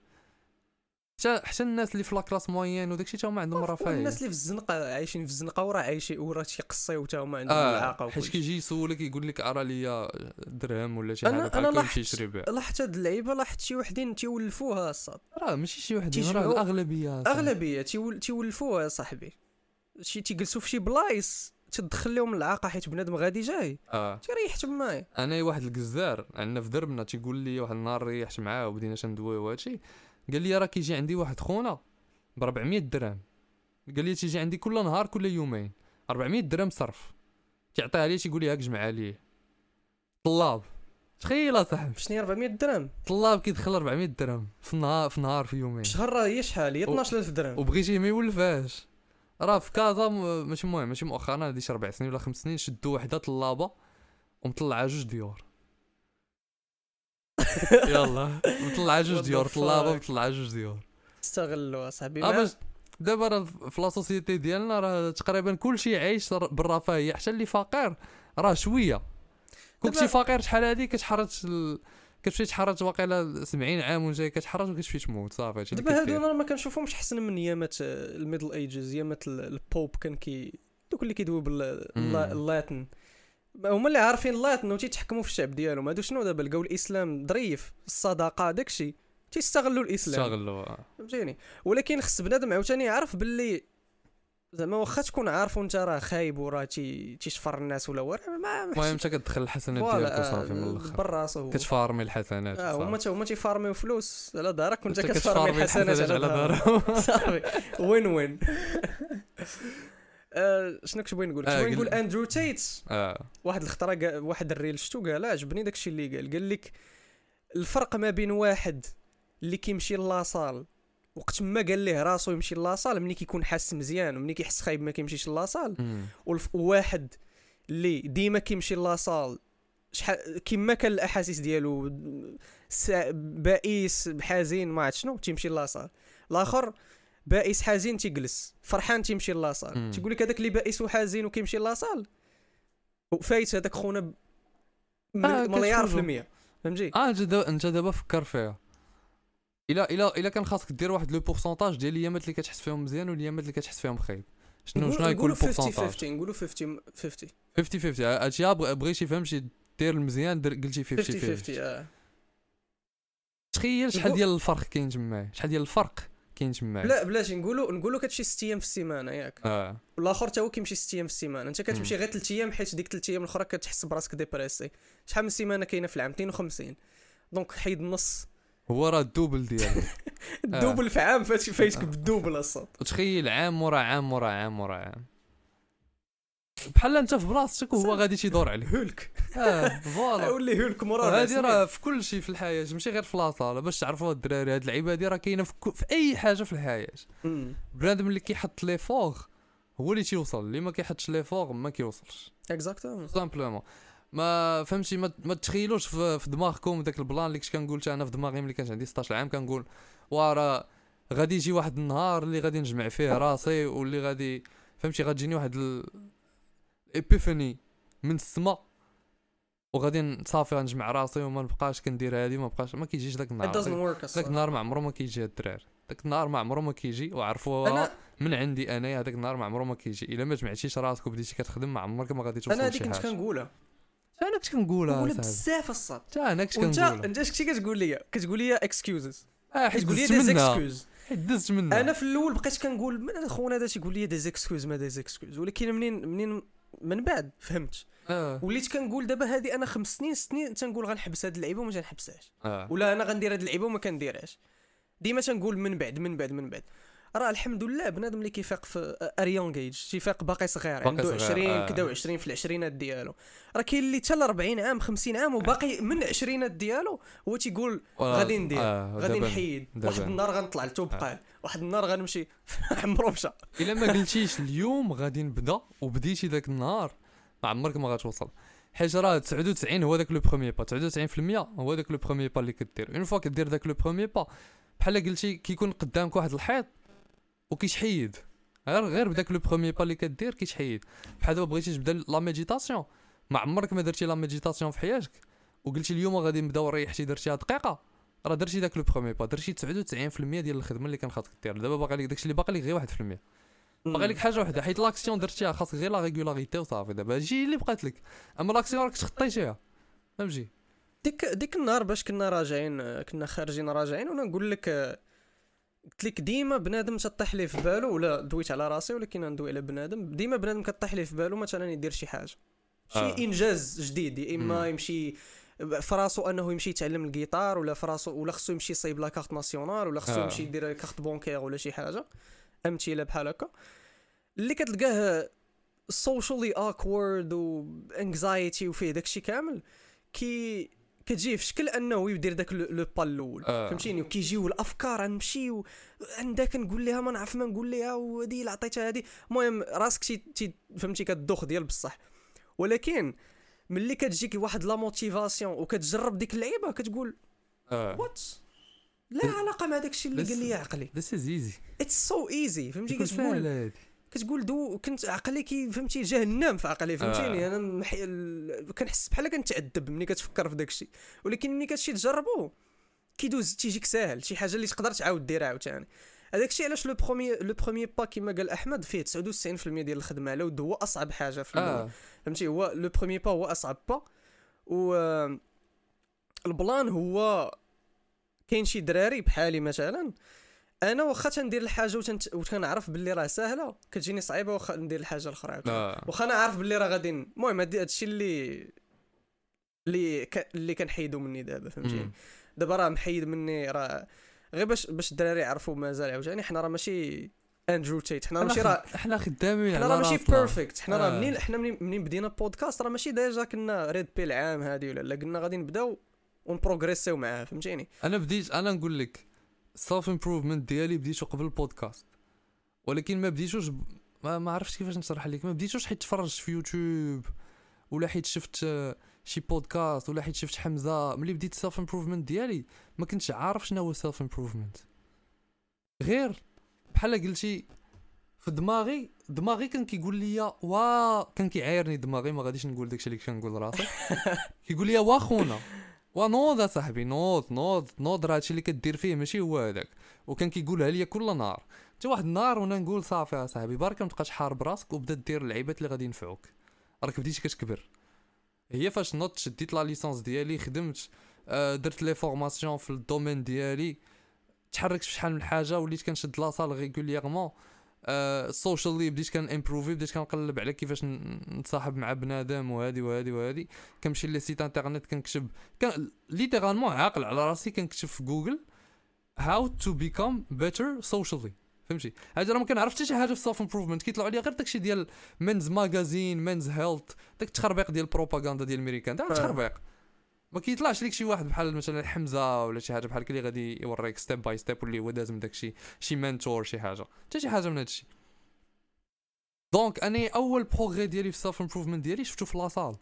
حتى حتى الناس اللي في لاكلاس موين وداكشي تا هما عندهم رفاهيه، الناس اللي في الزنقه عايشين في الزنقه وراه عايشين وراه تيقصيو تا هما عندهم آه العاقه حيت كيجي يسولك يقول لك ارا ليا درهم ولا شي حاجه بحال هكا يمشي يشري بها. لاحظت هاد اللعيبه لاحظت شي وحدين تيولفوها الصاد، راه ماشي شي وحدين راه الاغلبيه اغلبيه تيول تيولفوها صاحبي، شي تيجلسوا في شي بلايص تدخل لهم العاقه حيت بنادم غادي جاي اه تيريح تمايا. انا واحد الجزار عندنا في دربنا تيقول لي واحد النهار ريحت معاه وبدينا تندويو وهادشي، قال لي راه كيجي عندي واحد خونا ب أربعمية درهم، قال لي تيجي عندي كل نهار كل يومين أربعمية درهم صرف تعطيها لي تيقول لي هاك جمع ليه طلاب. تخيل اصاحبي شنو أربعمية درهم طلاب كيدخل أربعمية درهم في النهار في نهار في يومين شهر راه هي شحال هي اثناش ألف درهم وبغيتيه ما يولفاش. راه في كازا ماشي مهم ماشي مؤخرا هادي شي ربع سنين ولا خمس سنين شدوا وحده طلابه ومطلعها جوج ديور يلا مطلعها جوج ديور طلابه مطلعها جوج ديور استغلوا اصاحبي. اه دابا راه في لا سوسيتي ديالنا راه تقريبا كلشي عايش بالرفاهيه، حتى اللي فقير راه شويه. كنتي فقير شحال هادي كتحرج ال... كتمشي تحرج واقيلا سبعين عام وجاي كتحرج وكتمشي تموت صافي. دابا هادو انا ما كنشوفهمش حسن من ايامات الميدل ايجز، ايامات البوب كان كي دوك اللي كيدويو باللاتن هما اللي عارفين اللاتن وتيتحكموا في الشعب ديالهم. هادو شنو دابا لقاو الاسلام ظريف الصدقه داكشي تيستغلوا الاسلام استغلوا فهمتيني. ولكن خص بنادم عاوتاني يعرف باللي زعما واخا تكون عارف وانت راه خايب وراه تي تيشفر الناس ولا ورا المهم انت كتدخل الحسنات ديالك وصافي من الاخر براسو كتفارمي الحسنات. اه هما تا هما تيفارميو فلوس على دارك وانت كتفارمي الحسنات على دارك صافي وين وين. آه شنو كنت بغيت نقول كنت بغيت نقول اندرو تيت اه واحد الخطره واحد الريل شتو قال عجبني داكشي اللي قال قال لك الفرق ما بين واحد اللي كيمشي لاصال وقت ما قال ليه راسو يمشي لاصال ملي كيكون حاس مزيان وملي كيحس خايب ما كيمشيش لاصال، وواحد اللي ديما كيمشي لاصال شحال كيما كان الاحاسيس ديالو بائس حزين ما عرفت شنو تيمشي لاصال. الاخر بائس حزين تيجلس فرحان تيمشي لاصال. تيقول لك هذاك اللي بائس وحزين وكيمشي لاصال وفايت هذاك خونا مليار في المية فهمتي. اه انت دابا انت دابا فكر فيها الا الا الا كان خاصك دير واحد لو بورسونتاج ديال الايامات اللي كتحس فيهم مزيان والايامات اللي كتحس فيهم خايب شنو شنو يكون البورسونتاج؟ نقولوا خمسين خمسين خمسين خمسين هادشي بغيتي فهمتي دير المزيان قلتي خمسين خمسين اه تخيل شحال ديال الفرق كاين تما شحال ديال الفرق كاين تما. لا بلاتي نقولوا نقولوا كتمشي ستة ايام في السيمانه ياك اه والاخر تا هو كيمشي ستة ايام في السيمانه انت كتمشي غير ثلاث ايام حيت ديك ثلاث ايام الاخرى كتحس براسك ديبريسي. شحال من سيمانه كاينه في العام مئتين وخمسين دونك حيد النص هو راه الدوبل ديالو الدوبل آه. في عام فايتك فايتك بالدوبل الصوت وتخيل عام مورا عام مورا عام مورا عام بحال انت في بلاصتك وهو غادي تيدور عليك هولك اه فوالا ولي هولك مورا. هادي راه في كل شيء في الحياه ماشي غير في لاصال باش تعرفوا الدراري هاد اللعيبه هادي راه كاينه في, في اي حاجه في الحياه. بنادم اللي كيحط لي فوغ هو اللي تيوصل اللي ما كيحطش لي فوغ ما كيوصلش اكزاكتومون سامبلومون. ما فهمتي ما, ما تخيلوش في, في دماغكم داك البلان اللي كنت كنقول انا في دماغي ملي كانت عندي ستطاش عام كنقول ورا غادي يجي واحد النهار اللي غادي نجمع فيه راسي واللي غادي فهمتي غتجيني واحد الابيفاني من السما وغادي صافي غنجمع راسي وما نبقاش كندير هادي ما بقاش ما كيجيش داك it النهار doesn't work داك اصلا. النهار ما عمره ما كيجي هاد الدراري داك النهار ما عمره ما كيجي وعرفوها انا من عندي انا هذاك النهار ما عمره ما كيجي الا ما جمعتيش راسك وبديتي كتخدم ما عمرك ما غادي توصل انا لشي هذيك كنت حاجه كنقولها انا كنت كنقولها نقولها صاحبي بزاف الصاد. حتى انا كنت وانت كنقولها انت اش كنتي كتقول لي كتقول لي اكسكيوزز اه حيت كتقول لي دزت دي منها زيكسكيوز. حيت دزت منها انا في الاول بقيت كنقول من خونا هذا تيقول لي دي زيكسكيوز ما دي زيكسكيوز ولكن منين منين من بعد فهمت اه وليت كنقول دابا هذه انا خمس سنين ست سنين تنقول غنحبس هاد اللعيبه وما تنحبسهاش اه ولا انا غندير هاد اللعيبه وما كنديرهاش ديما تنقول من بعد من بعد من بعد راه الحمد لله بنادم اللي كيفيق في اريون جيج تيفيق باقي صغير باقي عنده صغير، عشرين آه. كدا وعشرين في العشرينات ديالو راه كاين اللي حتى ل أربعين عام خمسين عام وباقي من العشرينات ديالو هو تيقول غادي ندير آه. غادي دابا- نحيد دابا. واحد النهار غنطلع لتوبقال واحد النهار غنمشي عمرو مشى الا ما قلتيش اليوم غادي نبدا وبديتي داك النهار ما عمرك ما غتوصل حيت راه تسعة وتسعين هو داك لو بروميير با تسعة وتسعين بالمية هو داك لو بروميير با اللي كدير اون فوا كدير داك لو بروميير با بحال قلتي كيكون قدامك واحد الحيط وكيتحيد غير غير بداك لو بروميير با اللي كدير كيتحيد بحال دابا بغيتي تبدا لا ميديتاسيون ما عمرك ما درتي لا ميديتاسيون في حياتك وقلتي اليوم غادي نبداو ريحتي درتيها دقيقه راه درتي داك لو بروميير با درتي تسعة وتسعين بالمية ديال الخدمه اللي كان خاصك دير دابا باقي لك داكشي اللي باقي لك غير واحد بالمية باقي لك حاجه وحده حيت لاكسيون درتيها خاصك غير لا ريغولاريتي وصافي دابا هادشي اللي بقات لك اما لاكسيون راك تخطيتيها فهمتي ديك ديك النهار باش كنا راجعين كنا خارجين راجعين وانا نقول لك قلت لك ديما بنادم تطيح ليه في بالو ولا دويت على راسي ولكن ندوي على بنادم ديما بنادم كطيح ليه في بالو مثلا يدير شي حاجه شي آه. انجاز جديد يا اما مم. يمشي فراسو انه يمشي يتعلم الجيتار ولا فراسو ولا خصو يمشي يصايب لا كارت ناسيونال ولا خصو آه. يمشي يدير كارت بونكير ولا شي حاجه امثله بحال هكا اللي كتلقاه سوشيالي اوكورد و انكزايتي وفيه داكشي كامل كي كتجي في شكل انه يدير داك لو با الاول آه. فهمتيني وكيجيو الافكار غنمشي عندك نقول لها ما نعرف ما نقول لها وهذه اللي عطيتها هذه المهم راسك شي تي فهمتي كتدوخ ديال بصح ولكن ملي كتجيك واحد لا موتيفاسيون وكتجرب ديك اللعيبه كتقول اه وات لا علاقه مع داكشي اللي بس- قال لي عقلي ذس از ايزي اتس سو ايزي فهمتي كتقول كتقول ساهله هادي كتقول دو كنت عقلي كي فهمتي جهنم في عقلي فهمتيني آه. انا محي... ال... كنحس بحال كنتعذب ملي كتفكر في داكشي ولكن ملي كتمشي تجربو كيدوز تيجيك ساهل شي حاجه اللي تقدر تعاود ديرها عاوتاني هذاك الشيء علاش لو بروميي لو بروميي با كيما قال احمد فيه تسعة وتسعين بالمية ديال الخدمه لو هو اصعب حاجه في الاول اه فهمتي هو لو بروميي با هو اصعب با و آه، البلان هو كاين شي دراري بحالي مثلا انا واخا تندير الحاجه وتنت... وتنعرف باللي راه ساهله كتجيني صعيبه واخا ندير الحاجه الاخرى عاوتاني. اه واخا انا عارف باللي راه غادي المهم هادي هادشي اللي اللي ك... اللي كنحيدو مني دابا فهمتيني مم. دابا راه محيد مني راه غير باش باش الدراري يعرفوا مازال عاوتاني حنا راه ماشي اندرو تيت حنا ماشي راه احنا خدامين حنا على راه ماشي راسنا. بيرفكت حنا راه آه. منين حنا منين منين بدينا بودكاست راه ماشي ديجا كنا ريد بيل عام هادي ولا لا قلنا غادي نبداو ونبروغريسيو معاه فهمتيني انا بديت انا نقول لك سيلف امبروفمنت ديالي بديتو قبل البودكاست ولكن ما بديتوش ب... ما, ما عرفتش كيفاش نشرح لك ما بديتوش حيت تفرجت في يوتيوب ولا حيت شفت آه، شي بودكاست ولا حيت شفت حمزه ملي بديت سيلف امبروفمنت ديالي ما كنتش عارف شنو هو سيلف امبروفمنت غير بحال قلتي في دماغي دماغي كان كيقول لي وا كان كيعايرني دماغي ما غاديش نقول داكشي اللي كنقول راسي كيقول لي وا خونا ونوض صاحبي نوض نوض نوض راه هادشي اللي كدير فيه ماشي هو هذاك وكان كيقولها لي كل نهار حتى واحد النهار وانا نقول صافي يا صاحبي برك ما تبقاش حارب راسك وبدا دير اللعيبات اللي غادي ينفعوك راك بديتي كتكبر هي فاش نوضت شديت لا ليسونس ديالي خدمت آه درت لي فورماسيون في الدومين ديالي تحركت في شحال من حاجه وليت كنشد لاصال ريغوليرمون السوشيالي بديت كان امبروفي بديت كنقلب على كيفاش نتصاحب مع بنادم وهادي وهادي وهادي كنمشي لي سيت انترنت كنكتب كان ليترالمون عاقل على راسي كنكتب في جوجل how to become better socially فهمتي هذا راه ما كنعرف حتى شي حاجه في سيلف امبروفمنت كيطلعوا لي غير داكشي ديال مينز ماغازين مينز هيلث داك التخربيق ديال البروباغندا ديال الامريكان داك التخربيق ما كيطلعش ليك شي واحد بحال مثلا حمزه ولا شي حاجه بحال كي اللي غادي يوريك ستيب باي ستيب واللي هو داز من داكشي شي منتور شي حاجه حتى شي حاجه من هادشي دونك اني اول بروغري ديالي في السيلف امبروفمنت ديالي شفتو في لاصال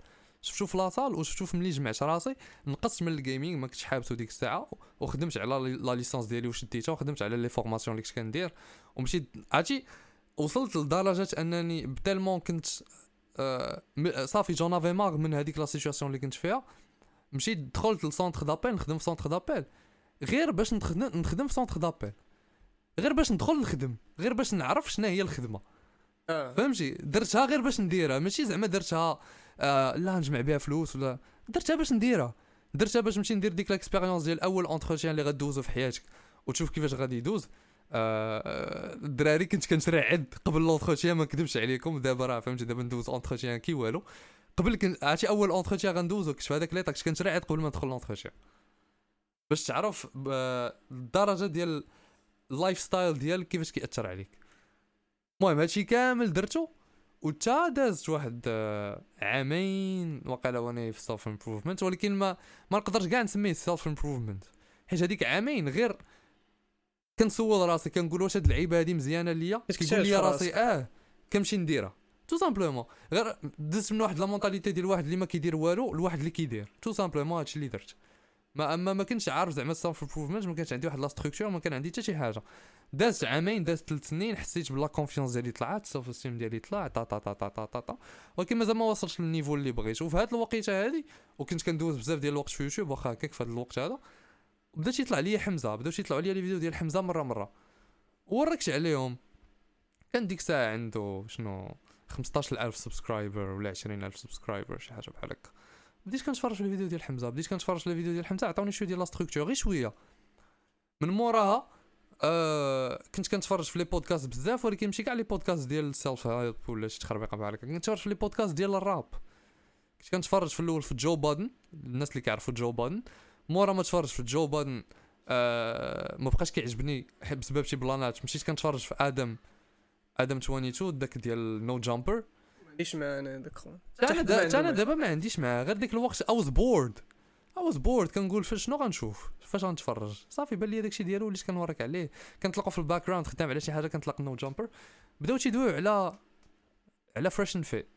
شفتو في لاصال وشفتو ملي جمعت راسي نقصت من الجيمنج ما كنتش حابته ديك الساعه وخدمت على لا ليسانس ديالي وشديتها وخدمت على لي فورماسيون اللي كنت كندير ومشيت عرفتي وصلت لدرجه انني بتالمون كنت آه صافي جون افي ماغ من هذيك لا سيتوياسيون اللي كنت فيها مشيت دخلت للسونتر دابيل نخدم في سونتر دابيل غير باش نخدم نخدم في سونتر دابيل غير باش ندخل نخدم غير باش نعرف شنو هي الخدمه آه. فهمتي درتها غير باش نديرها ماشي زعما درتها آه لا نجمع بها فلوس ولا درتها باش نديرها درتها باش نمشي ندير ديك لاكسبيريونس ديال اول اونتروتيان اللي غدوزو في حياتك وتشوف كيفاش غادي يدوز آه الدراري كنت كنترعد قبل لونتروتيان ما نكذبش عليكم دابا راه فهمتي دابا ندوز اونتروتيان كي والو قبل كنت عرفتي اول اونتروتيان غندوزو كنت في هذاك ليطا كنت كنترعد قبل ما ندخل لونتروتيان باش تعرف الدرجه ديال اللايف ستايل ديالك كيفاش كيأثر عليك المهم هادشي كامل درتو وتا دازت واحد عامين وقيلا وانا في سيلف امبروفمنت ولكن ما ما نقدرش كاع نسميه سيلف امبروفمنت حيت هذيك عامين غير كنسول راسي كنقول واش هاد اللعيبه هادي مزيانه ليا كيقول لي راسي اه كنمشي نديرها تو سامبلومون غير دزت من واحد لا مونطاليتي ديال واحد اللي ما كيدير والو لواحد اللي كيدير تو سامبلومون هادشي اللي درت ما اما ما كنتش عارف زعما السيلف امبروفمنت ما كانش عندي واحد لا ستركتور ما كان عندي حتى شي حاجه دازت عامين دازت ثلاث سنين حسيت بلا كونفيونس ديالي طلعت السيلف استيم ديالي طلع طا طا طا طا طا طا طا ولكن مازال ما وصلتش للنيفو اللي بغيت وفي هاد الوقيته هادي وكنت كندوز بزاف ديال الوقت في يوتيوب واخا هكاك في هاد الوقت هذا بدات يطلع لي حمزه بداو يطلعوا لي لي فيديو ديال حمزه مره مره وركت عليهم كان ديك الساعه عنده شنو خمسطاش ألف سبسكرايبر ولا عشرين ألف سبسكرايبر شي حاجه بحال هكا بديت كنتفرج في الفيديو ديال حمزه بديت كنتفرج في الفيديو ديال حمزه عطاوني شويه ديال لا ستركتور غير شويه من موراها آه كنت كنتفرج في لي بودكاست بزاف ولكن ماشي كاع لي بودكاست ديال السيلف هيلب ولا شي تخربيقه بحال هكا كنتفرج في لي بودكاست ديال الراب كنت كنتفرج في الاول في جو بادن الناس اللي كيعرفوا جو بادن مورا ما تفرج في جو بادن آه ما بقاش كيعجبني بسبب شي بلانات مشيت كنتفرج في ادم ادم اثنين وعشرين داك ديال نو جامبر ليش معنا داك انا دابا انا دابا ما عنديش معاه غير ديك الوقت I was bored I was bored كنقول فاش شنو غنشوف فاش غنتفرج صافي بان لي داكشي ديالو وليت كنوريك عليه كنطلقوا في الباك جراوند خدام على شي حاجه كنطلق نو جامبر بداو تيدويو على على فريش فيت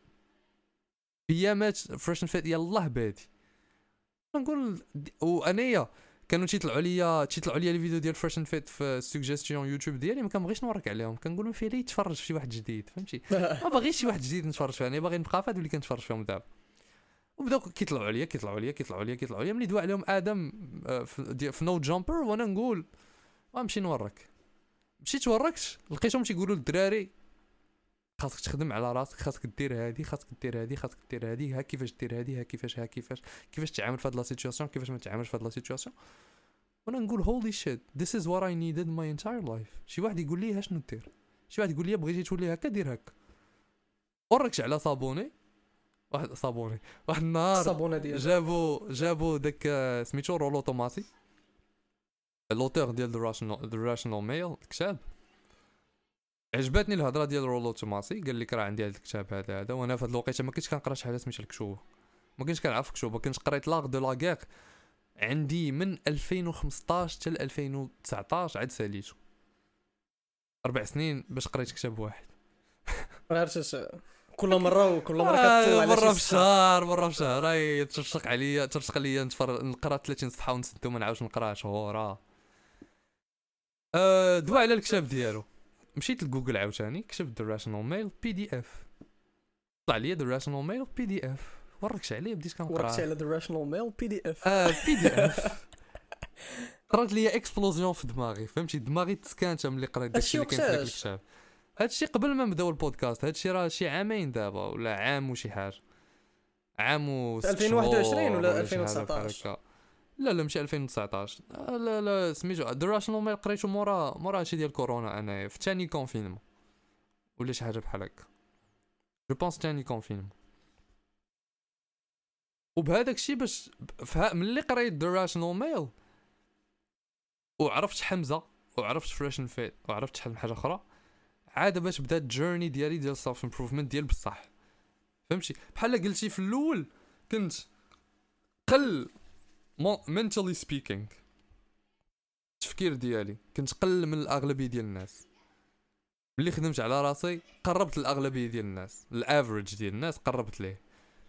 ايامات فريش فيت يلاه بادي كنقول وانايا كانوا تيطلعوا ليا تيطلعوا ليا لي فيديو ديال فريش فيت في السوجيستيون يوتيوب ديالي ما كنبغيش نوريك عليهم كنقول ما فيه لي يتفرج في شي واحد جديد فهمتي ما باغيش شي واحد جديد نتفرج فيه انا باغي نبقى فهاد اللي كنتفرج فيهم دابا وبداو كيطلعوا عليا كيطلعوا عليا كيطلعوا عليا كيطلعوا عليا ملي دوا عليهم ادم في, في نو جامبر وانا نقول غنمشي نورك مشيت وركت لقيتهم تيقولوا للدراري خاصك تخدم على راسك خاصك دير هادي خاصك دير هادي خاصك دير هادي ها كيفاش دير هادي ها كيفاش ها كيفاش كيفاش تعامل في هاد لا سيتوياسيون كيفاش ما تعاملش في هاد لا سيتوياسيون وانا نقول هولي شيت this is what I needed my entire life شي واحد يقول لي شنو دير شي واحد يقول لي بغيتي تولي هكا دير هكا وركش على صابوني واحد صابوني واحد النهار الصابونه ديال جابوا جابوا داك سميتو رولو توماسي لوتور ديال ذا راشنال ذا راشنال ميل الكتاب عجبتني الهضره ديال رولو توماسي قال لك راه عندي هذا الكتاب هذا هذا وانا في هذه الوقيته ما كنتش كنقرا شي حاجه سميتها الكشوف ما كنتش كنعرف كشوف كنت قريت لاغ دو لا غير عندي من ألفين وخمسطاش حتى ألفين وتسعطاش عاد ساليتو اربع سنين باش قريت كتاب واحد عرفتش كل مره وكل مره آه كتطلع على مره في الشهر مره في الشهر راهي ترشق عليا ترشق عليا نتفرج نقرا ثلاثين صفحه ونسد وما نعاودش نقرا شهور اه دوا على الكتاب ديالو مشيت لجوجل عاوتاني كتبت ذا راشنال ميل بي دي اف طلع لي ذا راشنال ميل بي دي اف وركش عليه بديت كنقرا وركت على ذا راشنال ميل بي دي اف اه بي دي اف طرات لي اكسبلوزيون في دماغي فهمتي دماغي تسكانت ملي قريت داكشي اللي كاين في داك الكتاب هادشي قبل ما نبداو البودكاست هادشي راه شي عامين دابا ولا عام وشي حاجه عام و ألفين وواحد وعشرين ولا ألفين وتسعطاش لا لا ماشي ألفين وتسعطاش لا لا سميتو ذا راشنال ميل قريتو مورا مورا هادشي ديال كورونا انا في ثاني كونفينمون ولا شي حاجه بحال هكا جو بونس ثاني كونفينمون وبهذاك الشيء باش ملي قريت ذا راشنال ميل وعرفت حمزه وعرفت فريش فيت وعرفت شحال من حاجه اخرى عاد باش بدات جيرني ديالي ديال سيلف امبروفمنت ديال بصح فهمتي بحال قلتي في الاول كنت قل mentally speaking التفكير ديالي كنت قل من الاغلبيه ديال الناس ملي خدمت على راسي قربت الاغلبيه ديال الناس الافريج ديال الناس قربت ليه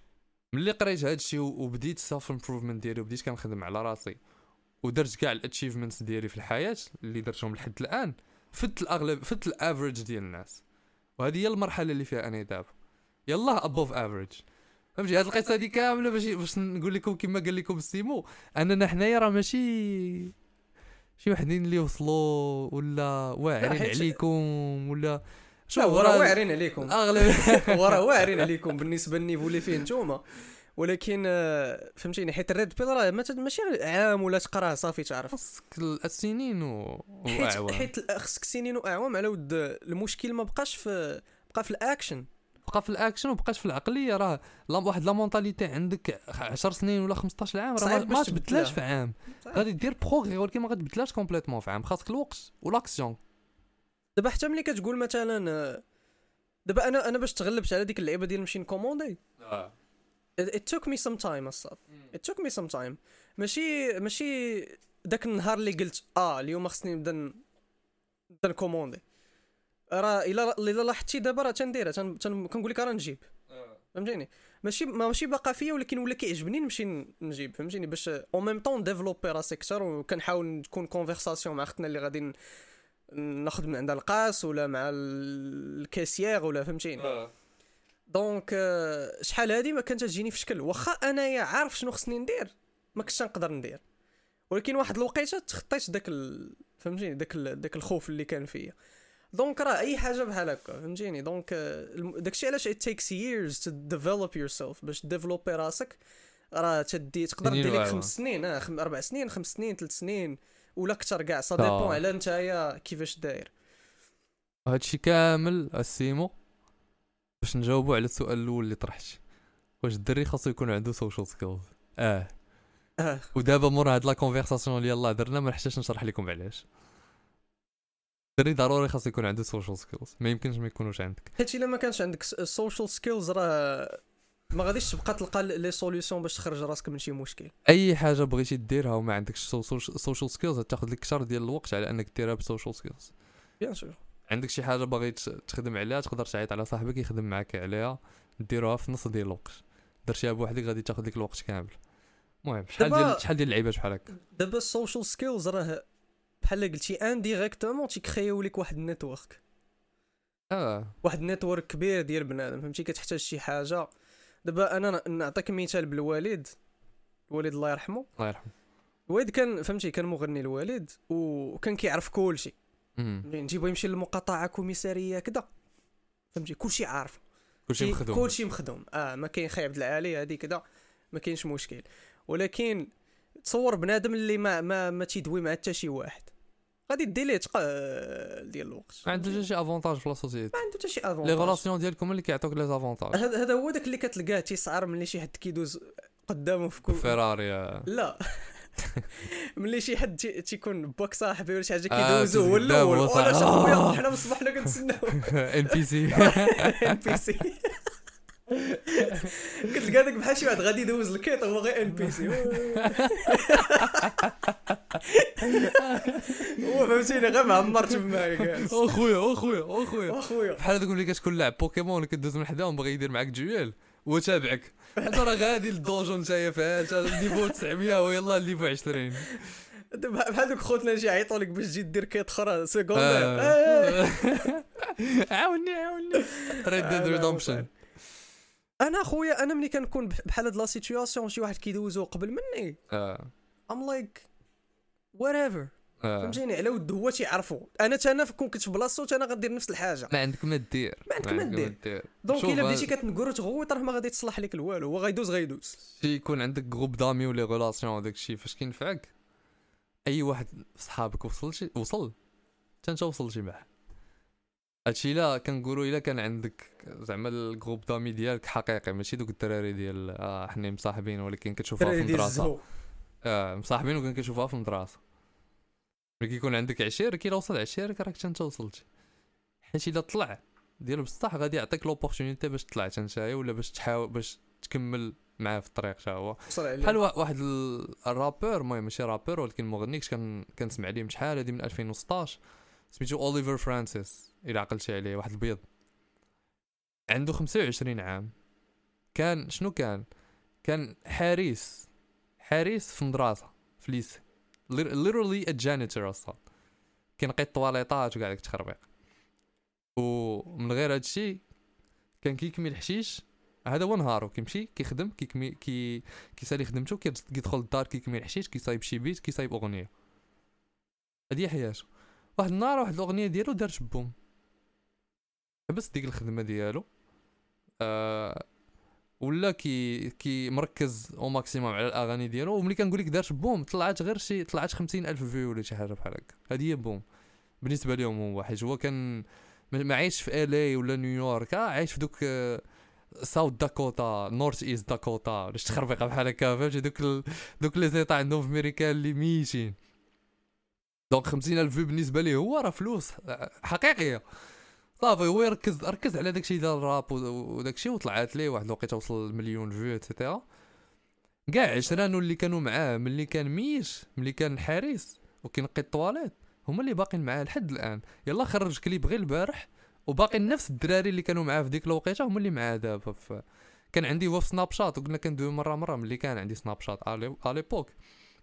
ملي قريت هذا الشيء وبديت سيلف امبروفمنت ديالي وبديت كنخدم على راسي ودرت كاع الاتشيفمنتس ديالي في الحياه اللي درتهم لحد الان فت الاغلب فت الافريج ديال الناس. وهذه هي المرحله اللي فيها انا دابا يلا ابوف افريج. فهمتي هاد القصه هذه كامله باش باش نقول لكم كما قال لكم سيمو اننا حنايا راه ماشي شي وحدين اللي وصلوا ولا واعرين عليكم ولا شو راه واعرين عليكم اغلب وراه واعرين عليكم بالنسبه للنيفو اللي فيه نتوما. ولكن فهمتيني حيت الريد بيل راه ماشي عام ولا تقراه صافي تعرف خصك السنين و... واعوام حيت خصك سنين واعوام على ود المشكل ما بقاش في بقى في الاكشن بقى في الاكشن وبقاش في العقليه. راه واحد لا مونطاليتي عندك عشر سنين ولا خمسطاش عام راه ما تبدلاش في عام. غادي دير بروغري ولكن ما غتبدلاش كومبليتوم في عام. خاصك الوقت والاكسيون. دابا حتى ملي كتقول مثلا دابا انا انا باش تغلبت على ديك اللعيبه ديال نمشي نكوموندي اه it took me some time اصاحبي it took me some time ماشي ماشي داك النهار اللي قلت اه اليوم خصني نبدا نبدا نكوموندي. راه الا الا لاحظتي دابا راه تنديرها كنقول لك راه نجيب فهمتيني ماشي ماشي باقا فيا ولكن ولا كيعجبني نمشي نجيب فهمتيني باش او ميم طون ديفلوبي راسي اكثر. وكنحاول نكون كونفرساسيون مع اختنا اللي غادي ناخذ من عندها القاس ولا مع الكاسيير ولا فهمتيني. دونك شحال هادي ما كانت تجيني في شكل واخا انايا عارف شنو خصني ندير ما كنتش نقدر ندير. ولكن واحد الوقيته تخطيت داك ال... فهمتيني داك ال... داك الخوف اللي كان فيا. دونك راه اي حاجه بحال هكا فهمتيني. دونك داكشي علاش it takes years to develop yourself باش ديفلوبي راسك. راه تدي تقدر دير لك خمس سنين اه خم... اربع سنين خمس سنين ثلاث سنين ولا اكثر كاع سا ديبون على نتايا كيفاش داير. هادشي كامل السيمو باش نجاوبوا على السؤال الاول اللي طرحت واش الدري خاصو يكون عنده سوشيال سكيلز. اه اه ودابا مور هاد لا كونفرساسيون اللي يلاه درنا ما نحتاجش نشرح لكم علاش. الدري ضروري خاصو يكون عنده سوشيال سكيلز ما يمكنش ما يكونوش عندك. حيت الا ما كانش عندك سوشيال سكيلز راه ما غاديش تبقى تلقى لي سوليوشن باش تخرج راسك من شي مشكل. اي حاجه بغيتي ديرها وما عندكش سوشيال سكيلز تاخذ لك كثر ديال الوقت على انك ديرها بسوشيال سكيلز. بيان سور عندك شي حاجه باغي تخدم عليها تقدر تعيط على صاحبك يخدم معك عليها ديروها في نص ديال الوقت. درتيها بوحدك غادي تاخذ لك الوقت كامل. المهم شحال ديال شحال ديال اللعيبات بحال هكا. دابا السوشيال سكيلز راه بحال قلتي انديريكتومون تيكريو لك واحد النيتورك. اه واحد النيتورك كبير ديال بنادم فهمتي كتحتاج شي حاجه. دابا انا نعطيك مثال بالوالد. الوالد الله يرحمه الله يرحمه الوالد كان فهمتي كان مغني الوالد وكان كيعرف كلشي. نجيبو يمشي للمقاطعه كوميساريه كذا فهمتي كلشي عارف كلشي مخدوم كلشي مخدوم اه ما كاين خايب العالي هذه كذا ما كاينش مشكل. ولكن تصور بنادم اللي ما ما, ما تيدوي مع حتى شي واحد غادي دير تقا ديال الوقت ما عنده حتى شي افونتاج في لا سوسيتي. ما عنده حتى شي افونتاج. لي غولاسيون ديالكم اللي كيعطوك لي افونتاج. هذا هو داك اللي كتلقاه تيسعر ملي شي حد كيدوز قدامه في كل فيراري. لا ملي شي حد تيكون باك صاحبي ولا شي حاجه كيدوزو هو الاول ولا شي خويا حنا مصباح حنا كنتسناو ان بي سي ان بي سي كتلقى داك بحال شي واحد غادي يدوز الكيط هو غير ان بي سي هو فهمتيني غير معمر تما كاع او خويا او خويا او خويا او خويا بحال هذوك اللي كتكون لاعب بوكيمون كدوز من حداهم باغي يدير معاك جويل وتابعك انت راه غادي للدونجون نتايا فيها ليفو تسعمية ويلا ليفو عشرين. بحال دوك خوتنا نجي يعيطوا لك باش تجي دير كيت اخرى سيكوند عاوني عاوني ريد ديد ريدمبشن. انا خويا انا ملي كنكون بحال هاد لا سيتوياسيون شي واحد كيدوزو قبل مني اه ام لايك whatever فهمتيني على ود هو تيعرفوا انا حتى انا كون كنت في بلاصتو انا غندير نفس الحاجه. ما عندك ما دير ما عندك ما دير دونك الا بديتي كتنقر تغوت راه ما غادي تصلح لك الوالو هو غيدوز غيدوز. شي يكون عندك جروب دامي ولا ريلاسيون وداك الشيء فاش كينفعك اي واحد في صحابك وصل شي وصل حتى انت وصلتي معاه. هادشي لا كنقولوا الا كان عندك زعما الجروب دامي ديالك حقيقي ماشي دوك الدراري ديال اه حنا مصاحبين ولكن كتشوفها في المدرسه اه مصاحبين وكان كتشوفها في المدرسه. ملي كيكون عندك عشير كي وصل عشيرك راك انت وصلتي. حيت الا طلع ديال بصح غادي يعطيك لوبورتونيتي باش تطلع حتى نتايا ولا باش تحاول باش تكمل معاه في الطريق حتى هو. بحال واحد الرابور المهم ماشي رابور ولكن مغني كان كنسمع ليه من شحال هادي من ألفين وستطاش سميتو اوليفر فرانسيس الا عقلتي عليه واحد البيض عنده خمسة وعشرين عام. كان شنو كان كان حارس حارس في مدرسه في ليسي literally a janitor اصلا كينقي الطواليطات وكاع داك التخربيق ومن غير هادشي كان كيكمي الحشيش هذا هو نهارو كيمشي كيخدم كيكمي كي كيسالي خدمته كيدخل للدار كيكمي الحشيش كيصايب شي بيت كيصايب اغنيه هادي حياته واحد النهار واحد الاغنيه ديالو دارت بوم حبس ديك الخدمه ديالو آه ولا كي كي مركز او ماكسيموم على الاغاني ديالو وملي كنقول لك دارت بوم طلعت غير شي طلعت خمسين الف فيو ولا شي حاجه بحال هكا هذه هي بوم بالنسبه لهم هو حيت هو كان ما عايش في الي ولا نيويورك عايش في دوك ساوث داكوتا نورث ايست داكوتا باش تخربيقه بحال هكا فهمتي دوك ال... دوك لي زيطا عندهم في امريكا اللي ميتين دونك خمسين الف فيو بالنسبه ليه هو راه فلوس حقيقيه صافي هو يركز ركز على داكشي ديال الراب وداكشي وطلعت ليه واحد الوقيته وصل المليون فيو ايتترا كاع عشرانو اللي كانوا معاه ملي كان ميش ملي كان حارس وكينقي الطواليت هما اللي باقين معاه لحد الان يلا خرج كليب غير البارح وباقي نفس الدراري اللي كانوا معاه في ديك الوقيته هما اللي معاه دابا ف... كان عندي هو في سناب شات وقلنا كندوي مره مره ملي كان عندي سناب شات على ليبوك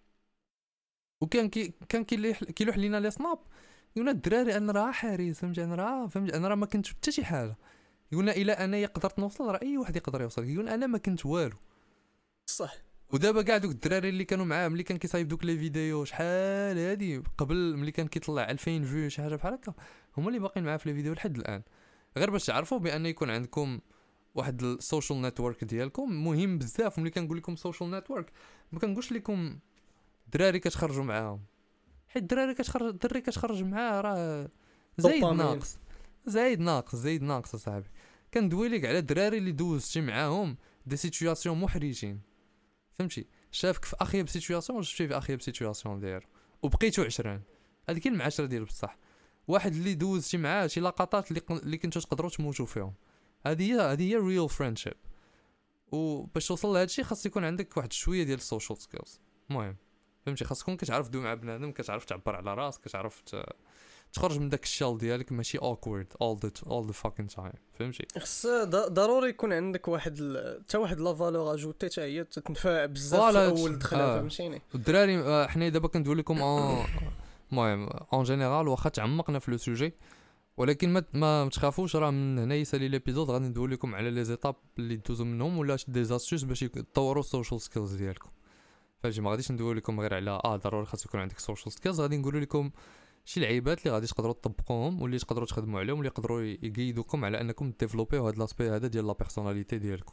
وكان كي كان كيلوح لينا لي سناب يقولنا الدراري انا راه حارس فهمت انا راه فهمت انا راه ما كنت حتى شي حاجه يقولنا الا انا قدرت نوصل راه اي واحد يقدر يوصل يقول انا ما كنت والو صح ودابا كاع دوك الدراري اللي كانوا معاه ملي كان كيصايب دوك لي فيديو شحال هادي قبل ملي كان كيطلع ألفين فيو شي حاجه بحال هكا هما اللي باقيين معاه في لي فيديو لحد الان غير باش تعرفوا بان يكون عندكم واحد السوشيال نيتورك ديالكم مهم بزاف ملي كنقول لكم سوشيال نيتورك ما كنقولش لكم دراري كتخرجوا معاهم حيت الدراري كتخرج الدري كتخرج معاه راه زايد ناقص زايد ناقص زايد ناقص اصاحبي كندوي لك على الدراري اللي دوزتي معاهم دي سيتوياسيون محرجين فهمتي شافك في اخيب سيتوياسيون شفتي في اخيب سيتوياسيون ديالو وبقيتو عشران هذيك كاين المعاشره ديال بصح واحد اللي دوزتي معاه شي لقطات اللي اللي كنتو تقدروا تموتوا فيهم هذه هي هذه هي ريل فريندشيب وباش توصل لهذا الشيء خاص يكون عندك واحد شويه ديال السوشيال سكيلز المهم فهمتي خاص تكون كتعرف دوي مع بنادم كتعرف تعبر على راسك كتعرف تخرج من داك الشال ديالك ماشي awkward all the all the fucking time فهمتي خص ضروري يكون عندك واحد حتى واحد لا فالور اجوتي حتى هي تتنفع بزاف في اول دخله آه. فهمتيني الدراري آه حنا دابا كندوي لكم المهم اون جينيرال واخا تعمقنا في لو سوجي ولكن ما ما تخافوش راه من هنا يسالي ليبيزود غادي ندوي لكم على لي زيتاب اللي دوزو منهم ولا دي زاستوس باش تطوروا السوشيال سكيلز ديالكم فهمتي ما غاديش ندوي لكم غير على اه ضروري خاص يكون عندك سوشيال سكيلز غادي نقول لكم شي لعيبات اللي غادي تقدروا تطبقوهم واللي تقدروا تخدموا عليهم واللي يقدروا يقيدوكم على انكم ديفلوبيو هذا لاسبي هذا ديال لا بيرسوناليتي ديالكم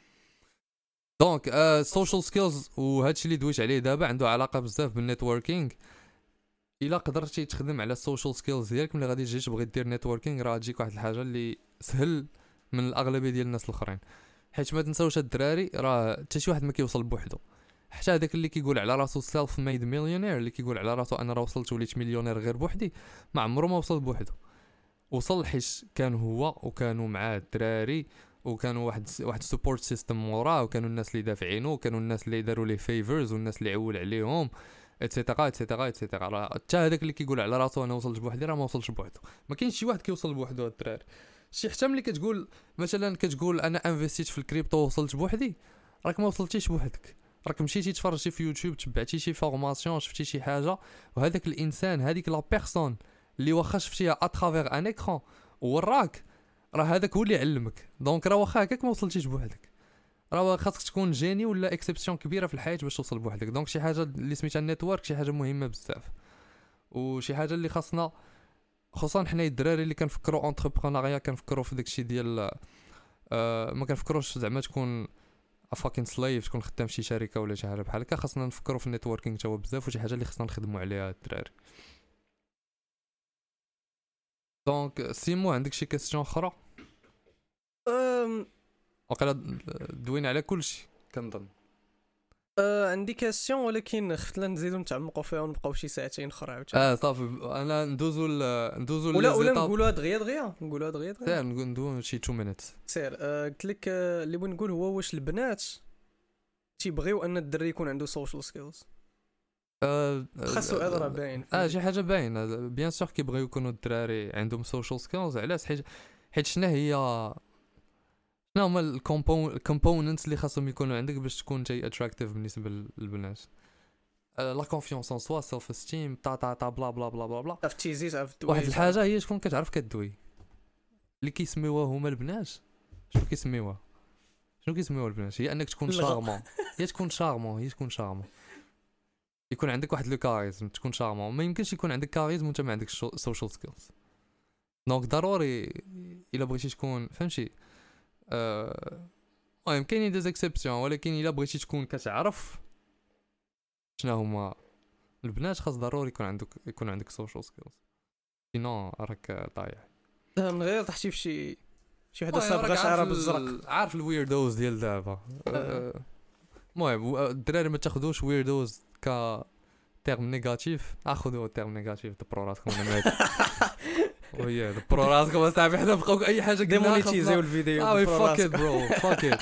دونك السوشيال سكيلز وهادشي اللي دويت عليه دابا عنده علاقه بزاف بالنيتوركينغ الا قدرتي تخدم على السوشيال سكيلز ديالك ملي غادي تجي تبغي دير نيتوركينغ راه تجيك واحد الحاجه اللي سهل من الاغلبيه ديال الناس الاخرين حيت ما تنساوش الدراري راه حتى شي واحد ما كيوصل بوحدو حتى هذاك اللي كيقول على راسو سيلف ميد مليونير اللي كيقول على راسو انا راه وصلت وليت مليونير غير بوحدي ما عمره ما وصل بوحدو وصل حيت كان هو وكانوا معاه الدراري وكانوا واحد واحد سبورت سيستم موراه وكانوا الناس اللي دافعينه وكانوا الناس اللي داروا ليه فيفرز والناس اللي عول عليهم اتسيتيرا اتسيتيرا اتسيتيرا حتى هذاك اللي كيقول على راسو انا وصلت بوحدي راه ما وصلش بوحدو ما كاينش شي واحد كيوصل بوحدو هاد الدراري شي حتى ملي كتقول مثلا كتقول انا انفستيت في الكريبتو وصلت بوحدي راك ما وصلتيش بوحدك راك مشيتي تفرجتي في يوتيوب تبعتي شي فورماسيون شفتي شي حاجه وهذاك الانسان هذيك لا بيرسون اللي واخا شفتيها اترافير ان ايكران وراك راه هذاك هو اللي علمك دونك راه واخا هكاك ما وصلتيش بوحدك راه خاصك تكون جيني ولا اكسبسيون كبيره في الحياه باش توصل بوحدك دونك شي حاجه اللي سميتها النيتورك شي حاجه مهمه بزاف وشي حاجه اللي خاصنا خصوصا حنا الدراري اللي كنفكروا اونتربرونيا كنفكروا في داكشي ديال آه ما كنفكروش زعما تكون افاكين سلايف تكون خدام في شي شركه ولا شي حاجه بحال هكا خاصنا نفكروا في النيتوركينغ تا هو بزاف وشي حاجه اللي خصنا نخدموا عليها الدراري دونك سيمو عندك شي كاستيون اخرى أم... وقيلا دوينا على كلشي كنظن أه عندي كاستيون ولكن خفت لا نزيدو نتعمقوا فيها ونبقاو شي ساعتين اخرى عاوتاني اه صافي انا ندوزو ل... ندوزو ولا ولا نقولوها دغيا دغيا نقولوها دغيا دغيا سير ندوزو شي اثنين مينيت سير أه قلت لك أه اللي بغيت نقول هو واش البنات تيبغيو ان الدري يكون عنده سوشيال سكيلز اه خاصو راه باين اه شي حاجه باينه بيان سور كيبغيو يكونوا الدراري عندهم سوشيال سكيلز علاش حيت حيت شنو هي شنو هما الكومبوننتس اللي خاصهم يكونوا عندك باش تكون جاي اتراكتيف بالنسبه للبنات؟ لا كونفيونس ان سوا، سيلف استيم، تا تا تا بلا بلا بلا بلا بلا. عرف تيزيز عرف واحد الحاجه هي شكون كتعرف كدوي اللي كيسميوها هما البنات. شنو كيسميوها شنو كيسميوها البنات؟ هي انك تكون شارمون. هي تكون شارمون هي تكون شارمون يكون عندك واحد لو كاريزم، تكون شارمون. ما يمكنش يكون عندك كاريزم وانت ما عندكش سوشيال سكيلز. دونك ضروري الا بغيتي تكون فهمتي اه المهم كاينين دي زيكسيبسيون، ولكن الا بغيتي تكون كتعرف شنو هما البنات خاص ضروري يكون عندك يكون عندك سوشيال سكيلز، سينو راك ضايع. من غير تحتي في شي شي وحده صابغه شعرها بالزرق. عارف الويردوز ديال دابا. المهم الدراري ما تاخذوش ويردوز ك تيرم نيجاتيف، اخذوا تيرم نيجاتيف دبروا راسكم انا مات. ويا دبروا راسكم اصاحبي، حنا بقاو اي حاجه قلنا ديمونيتيزيو الفيديو. اه فاك ات برو فاك ات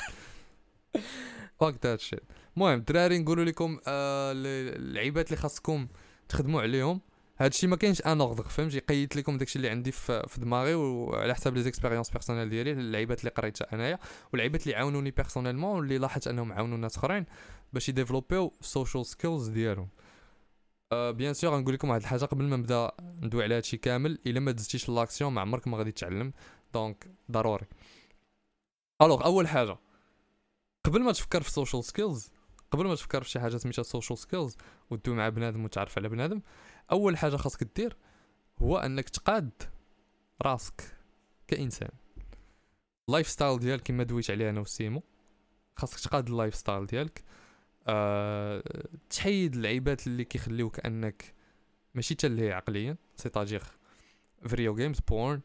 فاك ذات شيت. المهم الدراري نقولوا لكم آه اللعيبات اللي خاصكم تخدموا عليهم. هادشي ما كاينش ان اوردر فهمتي، قيدت لكم داكشي اللي عندي في, في دماغي وعلى حساب لي زيكسبيريونس بيرسونيل ديالي، اللعيبات اللي قريتها انايا واللعيبات اللي عاونوني بيرسونيلمون واللي لاحظت انهم عاونوا ناس اخرين باش يديفلوبيو السوشيال سكيلز ديالهم. أه بيان سور غنقول لكم واحد الحاجه قبل ما نبدا ندوي على هادشي كامل، الا ما دزتيش لاكسيون ما عمرك ما غادي تتعلم. دونك ضروري الوغ اول حاجه قبل ما تفكر في سوشيال سكيلز، قبل ما تفكر في شي حاجه سميتها سوشيال سكيلز ودوي مع بنادم وتعرف على بنادم، اول حاجه خاصك دير هو انك تقاد راسك كانسان. اللايف ستايل ديالك كما دويت عليه انا وسيمو، خاصك تقاد اللايف ستايل ديالك. أه... تحيد اللعيبات اللي كيخليوك انك ماشي تلهي عقليا، سيتاجير فيديو جيمز بورن.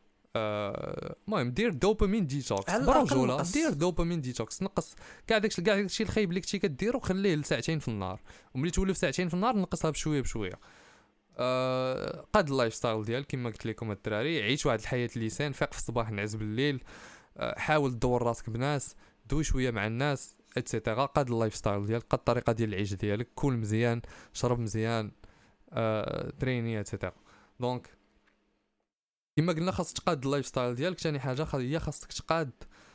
المهم دير دوبامين ديتوكس برجوله، دير دوبامين ديتوكس، نقص كاع داكشي كاع داكشي الخايب اللي كنتي كديرو خليه لساعتين في النهار، وملي تولي في ساعتين في النهار نقصها بشويه بشويه. أه قاد اللايف ستايل ديالك كما قلت لكم الدراري، عيش واحد الحياه اللسان، فيق في الصباح نعس بالليل. أه حاول تدور راسك بناس، دوي شويه مع الناس اتسيتيرا. قاد اللايف ستايل ديالك، قاد الطريقه ديال العيش ديالك، كل مزيان، شرب مزيان، أه تريني اتسيتيرا. دونك كما قلنا خاص تقاد اللايف ستايل ديالك. ثاني حاجه هي خاصك تقاد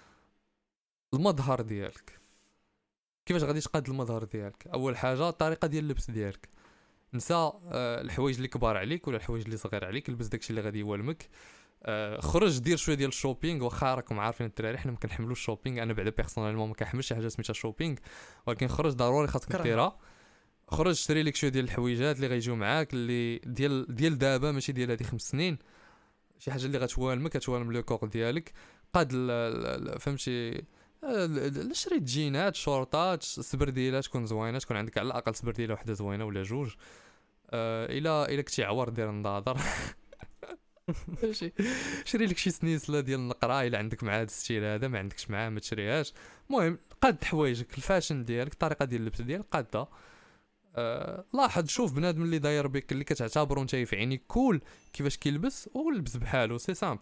المظهر ديالك. كيفاش غادي تقاد المظهر ديالك؟ اول حاجه الطريقه ديال اللبس ديالك، نسى آه الحوايج اللي كبار عليك ولا الحوايج اللي صغير عليك، لبس داكشي اللي غادي يوالمك. آه خرج دير شويه ديال الشوبينغ، واخا راكم عارفين الدراري حنا ما كنحملوش الشوبينغ، انا بعدا بيرسونيلمون ما كنحملش شي حاجه سميتها شوبينغ، ولكن خرج ضروري خاصك ديرها. خرج شري لك شويه ديال الحويجات اللي غيجيو معاك، اللي ديال ديال دابا ماشي ديال هذه خمس سنين، شي حاجه اللي غتوالمك غتوالم لو كور ديالك. قاد فهمتي شريت جينات شورطات سبرديلات تكون زوينه، تكون عندك على الاقل سبرديله وحده زوينه ولا جوج. آه الا الا كنتي عور دير النظاظر ماشي شري لك شي سنيسله ديال النقره الا عندك مع هذا الستيل هذا، ما عندكش معاه ما تشريهاش. المهم قاد حوايجك، الفاشن ديالك، الطريقه ديال اللبس ديالك قادها. أه لاحظ شوف بنادم اللي داير بك اللي كتعتبره نتايا في عينيك كول كيفاش كيلبس ولبس بحالو، سي سامبل.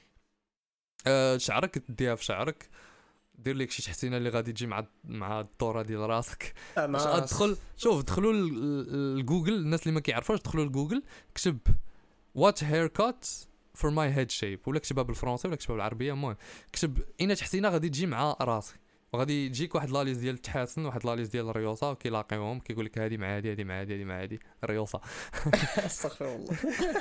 أه شعرك ديها في شعرك، دير لك شي تحسينه اللي غادي تجي مع مع الدوره ديال راسك. باش ادخل شوف دخلوا لجوجل، الناس اللي ما كيعرفوش دخلوا لجوجل كتب وات هير كات فور ماي هيد شيب، ولا كتبها بالفرنسي ولا كتبها بالعربيه. المهم كتب اين تحسينه غادي تجي مع راسك، وغادي يجيك واحد لاليز ديال التحاسن، واحد لاليز ديال الريوسه، وكيلاقيوهم كيقول لك هذه مع هذه، هذه مع هذه، هذه مع هذه الريوسه. استغفر الله.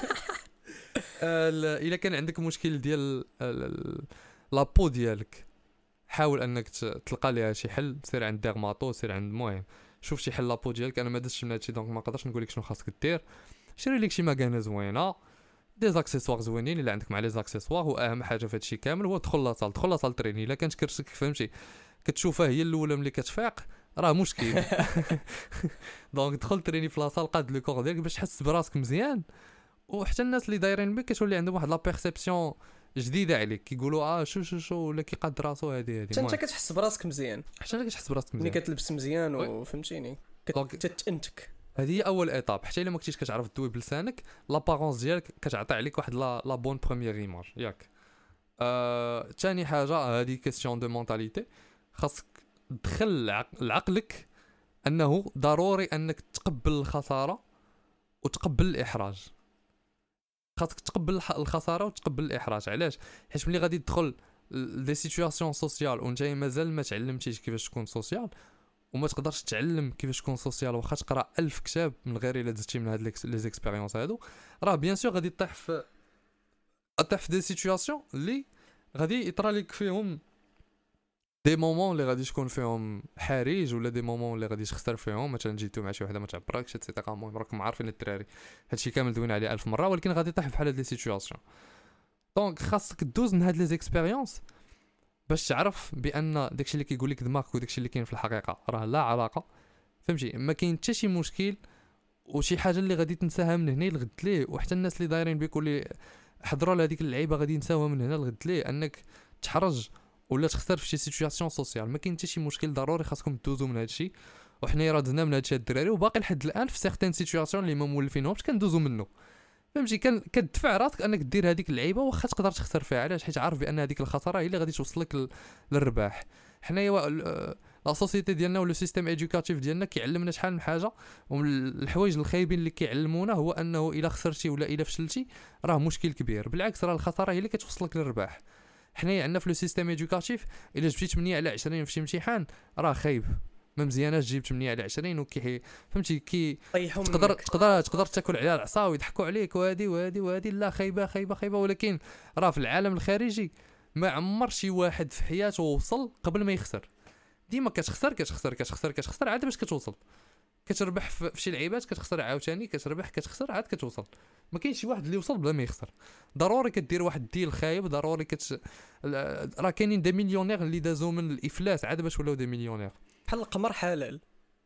الا كان عندك مشكل ديال لابو ديالك، حاول انك تلقى ليها شي حل، سير عند ديرماتو، سير عند المهم شوف شي حل لابو ديالك. انا ما درتش من هادشي دونك ما نقدرش نقول لك شنو خاصك دير. شري لك شي ماكانه زوينه، دي زاكسيسوار زوينين الا عندك مع لي زاكسيسوار. واهم حاجه في هادشي كامل هو دخل لاصال، دخل لاصال تريني. الا كانت كرشك فهمتي كتشوفها هي الاولى ملي كتفيق راه مشكل. دونك دخل تريني في لاصال، قاد لو كور ديالك باش تحس براسك مزيان. وحتى الناس اللي دايرين بك كتولي عندهم واحد لا بيرسيبسيون جديده عليك، كيقولوا اه شو شو شو ولا كيقاد راسو هذه هذه. انت كتحس براسك مزيان، حتى انت كتحس براسك مزيان ملي كتلبس مزيان وفهمتيني كتنتك. هذه هي اول ايطاب. حتى الا ما كنتيش كتعرف دوي بلسانك، لابارونس ديالك كتعطي عليك واحد لا لا بون بروميير ايماج ياك. آه، ثاني حاجه هذه كيسيون دو مونتاليتي، خاصك تدخل لعقلك انه ضروري انك تقبل الخساره وتقبل الاحراج. خاصك تقبل الخساره وتقبل الاحراج. علاش؟ حيت ملي غادي تدخل دي سيتوياسيون سوسيال وانت مازال ما تعلمتيش كيفاش تكون سوسيال وما تقدرش تعلم كيفاش تكون سوسيال واخا تقرا ألف كتاب من غير الا دزتي من هاد لي زيكسبيريونس هادو راه بيان سور غادي تطيح في تطيح في دي سيتوياسيون اللي غادي يطرا لك فيهم دي مومون اللي غادي تكون فيهم حريج ولا دي مومون اللي غادي تخسر فيهم مثلا جيتو مع شي وحده ما تعبركش اتسيتيرا. المهم راكم عارفين الدراري هادشي كامل دوينا عليه ألف مره ولكن غادي تطيح بحال هاد لي سيتوياسيون. دونك خاصك دوز من هاد لي زيكسبيريونس باش تعرف بان داكشي اللي كيقول لك دماغك وداكشي اللي كاين في الحقيقه راه لا علاقه. فهمتي ما كاين حتى شي مشكل وشي حاجه اللي غادي تنساها من هنا لغد ليه وحتى الناس اللي دايرين بك واللي حضروا لهذيك اللعيبه غادي ينساوها من هنا لغد ليه انك تحرج ولا تخسر في شي سيتوياسيون سوسيال. ما كاين حتى شي مشكل ضروري خاصكم دوزو من هادشي وحنا راه دزنا من هادشي الدراري وباقي لحد الان في سيغتين سيتوياسيون اللي ما مولفينهمش كندوزو منه. فهمتي كان كتدفع راسك انك دير هذيك اللعيبه واخا تقدر تخسر فيها. علاش؟ حيت عارف بان هذيك الخساره هي اللي غادي توصلك للرباح. حنايا لا سوسيتي ديالنا ولا السيستيم ايدوكاتيف ديالنا كيعلمنا شحال من حاجه ومن الحوايج الخايبين اللي كيعلمونا هو انه الا خسرتي ولا الا فشلتي راه مشكل كبير. بالعكس راه الخساره هي اللي كتوصلك للرباح. حنايا عندنا في لو سيستيم ايدوكاتيف الا جبتي ثمانية على عشرين في شي امتحان راه خايب ما مزياناش جيب ثمانية على عشرين وكي فهمتي كي تقدر تقدر تقدر تاكل عليها العصا ويضحكوا عليك وهادي وهادي وهادي لا خايبه خايبه خايبه. ولكن راه في العالم الخارجي ما عمر شي واحد في حياته وصل قبل ما يخسر. ديما كتخسر كتخسر كتخسر كتخسر عاد باش كتوصل. كتربح في شي لعيبات كتخسر عاوتاني كتربح كتخسر عاد كتوصل. ما كاينش شي واحد اللي وصل بلا ما يخسر. ضروري كدير واحد الديل خايب ضروري كت راه كاينين دي مليونير اللي دازو من الافلاس عاد باش ولاو دي مليونير بحال القمر حلال.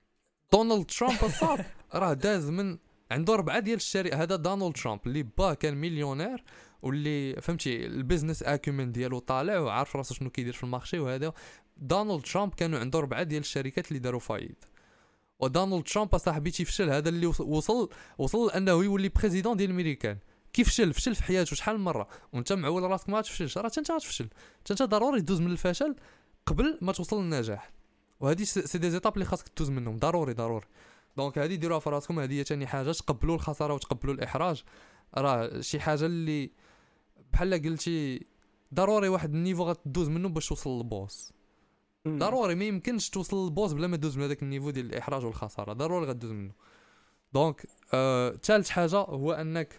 دونالد ترامب الصاد راه داز من عنده أربعة ديال الشركات. هذا دونالد ترامب اللي با كان مليونير واللي فهمتي البيزنس اكيومن ديالو طالع وعارف راسو شنو كيدير في المارشي. وهذا دونالد ترامب كانوا عنده أربعة ديال الشركات اللي داروا فايد. ودونالد ترامب صاحبي تيفشل هذا اللي وصل وصل انه يولي بريزيدون ديال الميريكان. كيف فشل فشل في حياته شحال من مره وانت معول راسك ما تفشلش راه انت غتفشل. انت ضروري تدوز من الفشل قبل ما توصل للنجاح. وهذه سي دي زيتاب اللي خاصك تدوز منهم ضروري ضروري. دونك هذه ديروها في راسكم. هذه هي ثاني حاجه تقبلوا الخساره وتقبلوا الاحراج. راه شي حاجه اللي بحال قلتي ضروري واحد النيفو غتدوز منه باش توصل للبوس. ضروري ما يمكنش توصل للبوس بلا ما تدوز من هذاك النيفو ديال الاحراج والخساره ضروري غدوز منه. دونك ثالث أه حاجه هو انك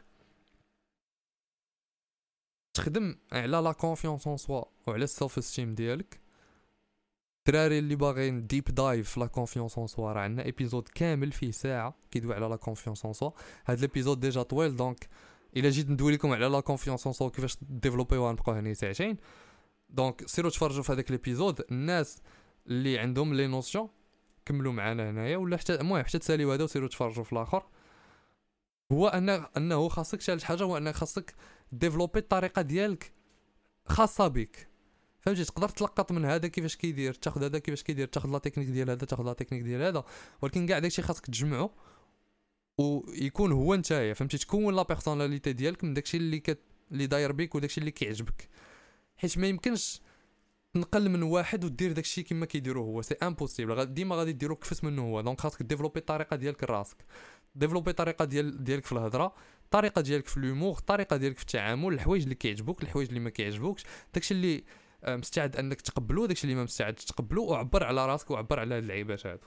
تخدم على لا كونفيونس اون سوا وعلى السيلف استيم ديالك. الدراري اللي باغيين ديب دايف في لا كونفيونس اون سوا راه عندنا ايبيزود كامل فيه ساعه كيدوي على لا كونفيونس اون سوا. هاد ليبيزود ديجا طويل دونك الا جيت ندوي لكم على لا كونفيونس اون سوا كيفاش ديفلوبيوها نبقاو هنا ساعتين. دونك سيروا تفرجوا في هذاك ليبيزود. الناس اللي عندهم لي نوسيون كملوا معنا هنايا ولا حتى المهم حتى تساليو هذا وسيروا تفرجوا في الاخر. هو ان انه خاصك ثالث حاجه هو انك خاصك ديفلوبي الطريقه ديالك خاصه بك. فهمتي تقدر تلقط من هذا كيفاش كيدير تاخذ هذا كيفاش كيدير تاخذ لا تكنيك ديال هذا تاخذ لا تكنيك ديال هذا. ولكن كاع داكشي خاصك تجمعه ويكون هو نتايا. فهمتي تكون لا بيرسوناليتي ديالك من داكشي اللي كت... اللي داير بك وداكشي اللي كيعجبك. حيت ما يمكنش تنقل من واحد ودير داكشي كما كيديرو هو سي امبوسيبل. ديما غادي ديرو كفس منه هو. دونك خاصك ديفلوبي الطريقه ديالك لراسك. ديفلوبي الطريقه ديال ديالك في الهضره الطريقه ديالك في لومور الطريقه ديالك في التعامل الحوايج اللي كيعجبوك الحوايج اللي ما كيعجبوكش داكشي اللي مستعد انك تقبلو داكشي اللي ما مستعدش تقبلو وعبر على راسك وعبر على هاد اللعيبات هادو.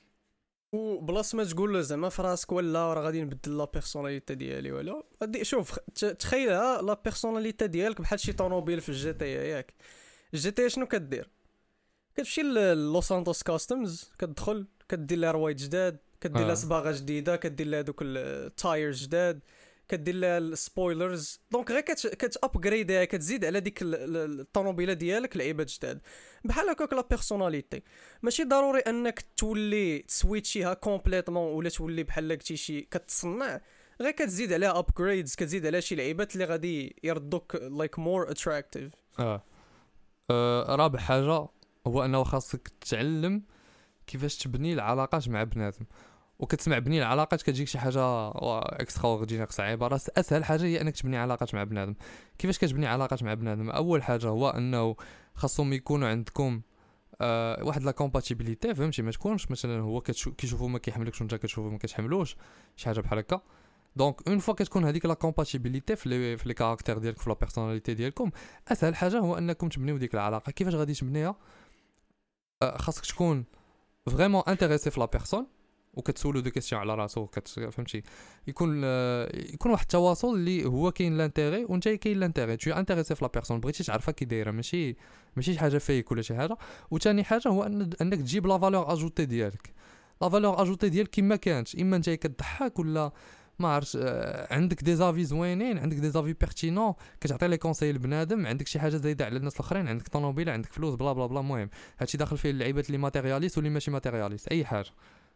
وبلاص ما تقول زعما في راسك ولا راه غادي نبدل لا بيرسوناليتي ديالي ولا غادي شوف تخيلها لا بيرسوناليتي ديالك بحال شي طوموبيل في الجي تي ياك. الجي تي شنو كدير؟ كتمشي للوس سانتوس كاستمز كتدخل كدير لها روايد جداد كدير لها صباغه جديده كدير لها دوك التايرز جداد كدير لها السبويلرز. دونك غير كت كت ابغريدها كتزيد على ديك الطوموبيله ديالك لعيبات جداد. بحال هكاك لا بيرسوناليتي ماشي ضروري انك تولي تسويتشيها كومبليتمون ولا تولي بحال قلتي شي كتصنع. غير كتزيد عليها ابغريدز كتزيد على شي لعيبات اللي غادي يردوك لايك مور اتراكتيف. اه, آه رابع حاجه هو انه خاصك تتعلم كيفاش تبني العلاقات مع بنادم. وكتسمع بني العلاقات كتجيك شي حاجه اكسترا اوردينير صعيبه. راه اسهل حاجه هي انك تبني علاقات مع بنادم. كيفاش كتبني علاقات مع بنادم؟ اول حاجه هو انه خاصهم يكونوا عندكم آه واحد لا كومباتيبيليتي. فهمتي ما تكونش مثلا هو كيشوفوا ما كيحملكش وانت كتشوفوا ما كتحملوش شي حاجه بحال هكا. دونك اون فوا كتكون هذيك لا كومباتيبيليتي في لي في لي كاركتير ديالك في لا بيرسوناليتي ديالكم اسهل حاجه هو انكم تبنيو ديك العلاقه. كيفاش غادي تبنيها؟ أه خاصك تكون فريمون انتريسي في لا بيرسون وكتسولو دي كيسيون على راسو كت فهمتي يكون آه يكون واحد التواصل اللي هو كاين لانتيغي وانت كاين لانتيغي تو انتريسي في لا بيرسون بغيتي تعرفها كي دايره ماشي ماشي شي حاجه فيك ولا شي حاجه. وثاني حاجه هو أن انك تجيب لا فالور اجوتي ديالك. لا فالور اجوتي ديالك كيما كانت اما انت كتضحك ولا ما عرفتش آه عندك دي زافي زوينين عندك دي زافي بيرتينون كتعطي لي كونساي لبنادم عندك شي حاجه زايده على الناس الاخرين عندك طوموبيل عندك فلوس بلا بلا بلا. المهم هادشي داخل فيه اللعيبات اللي ماتيرياليست واللي ماشي ماتيرياليست اي حاجه.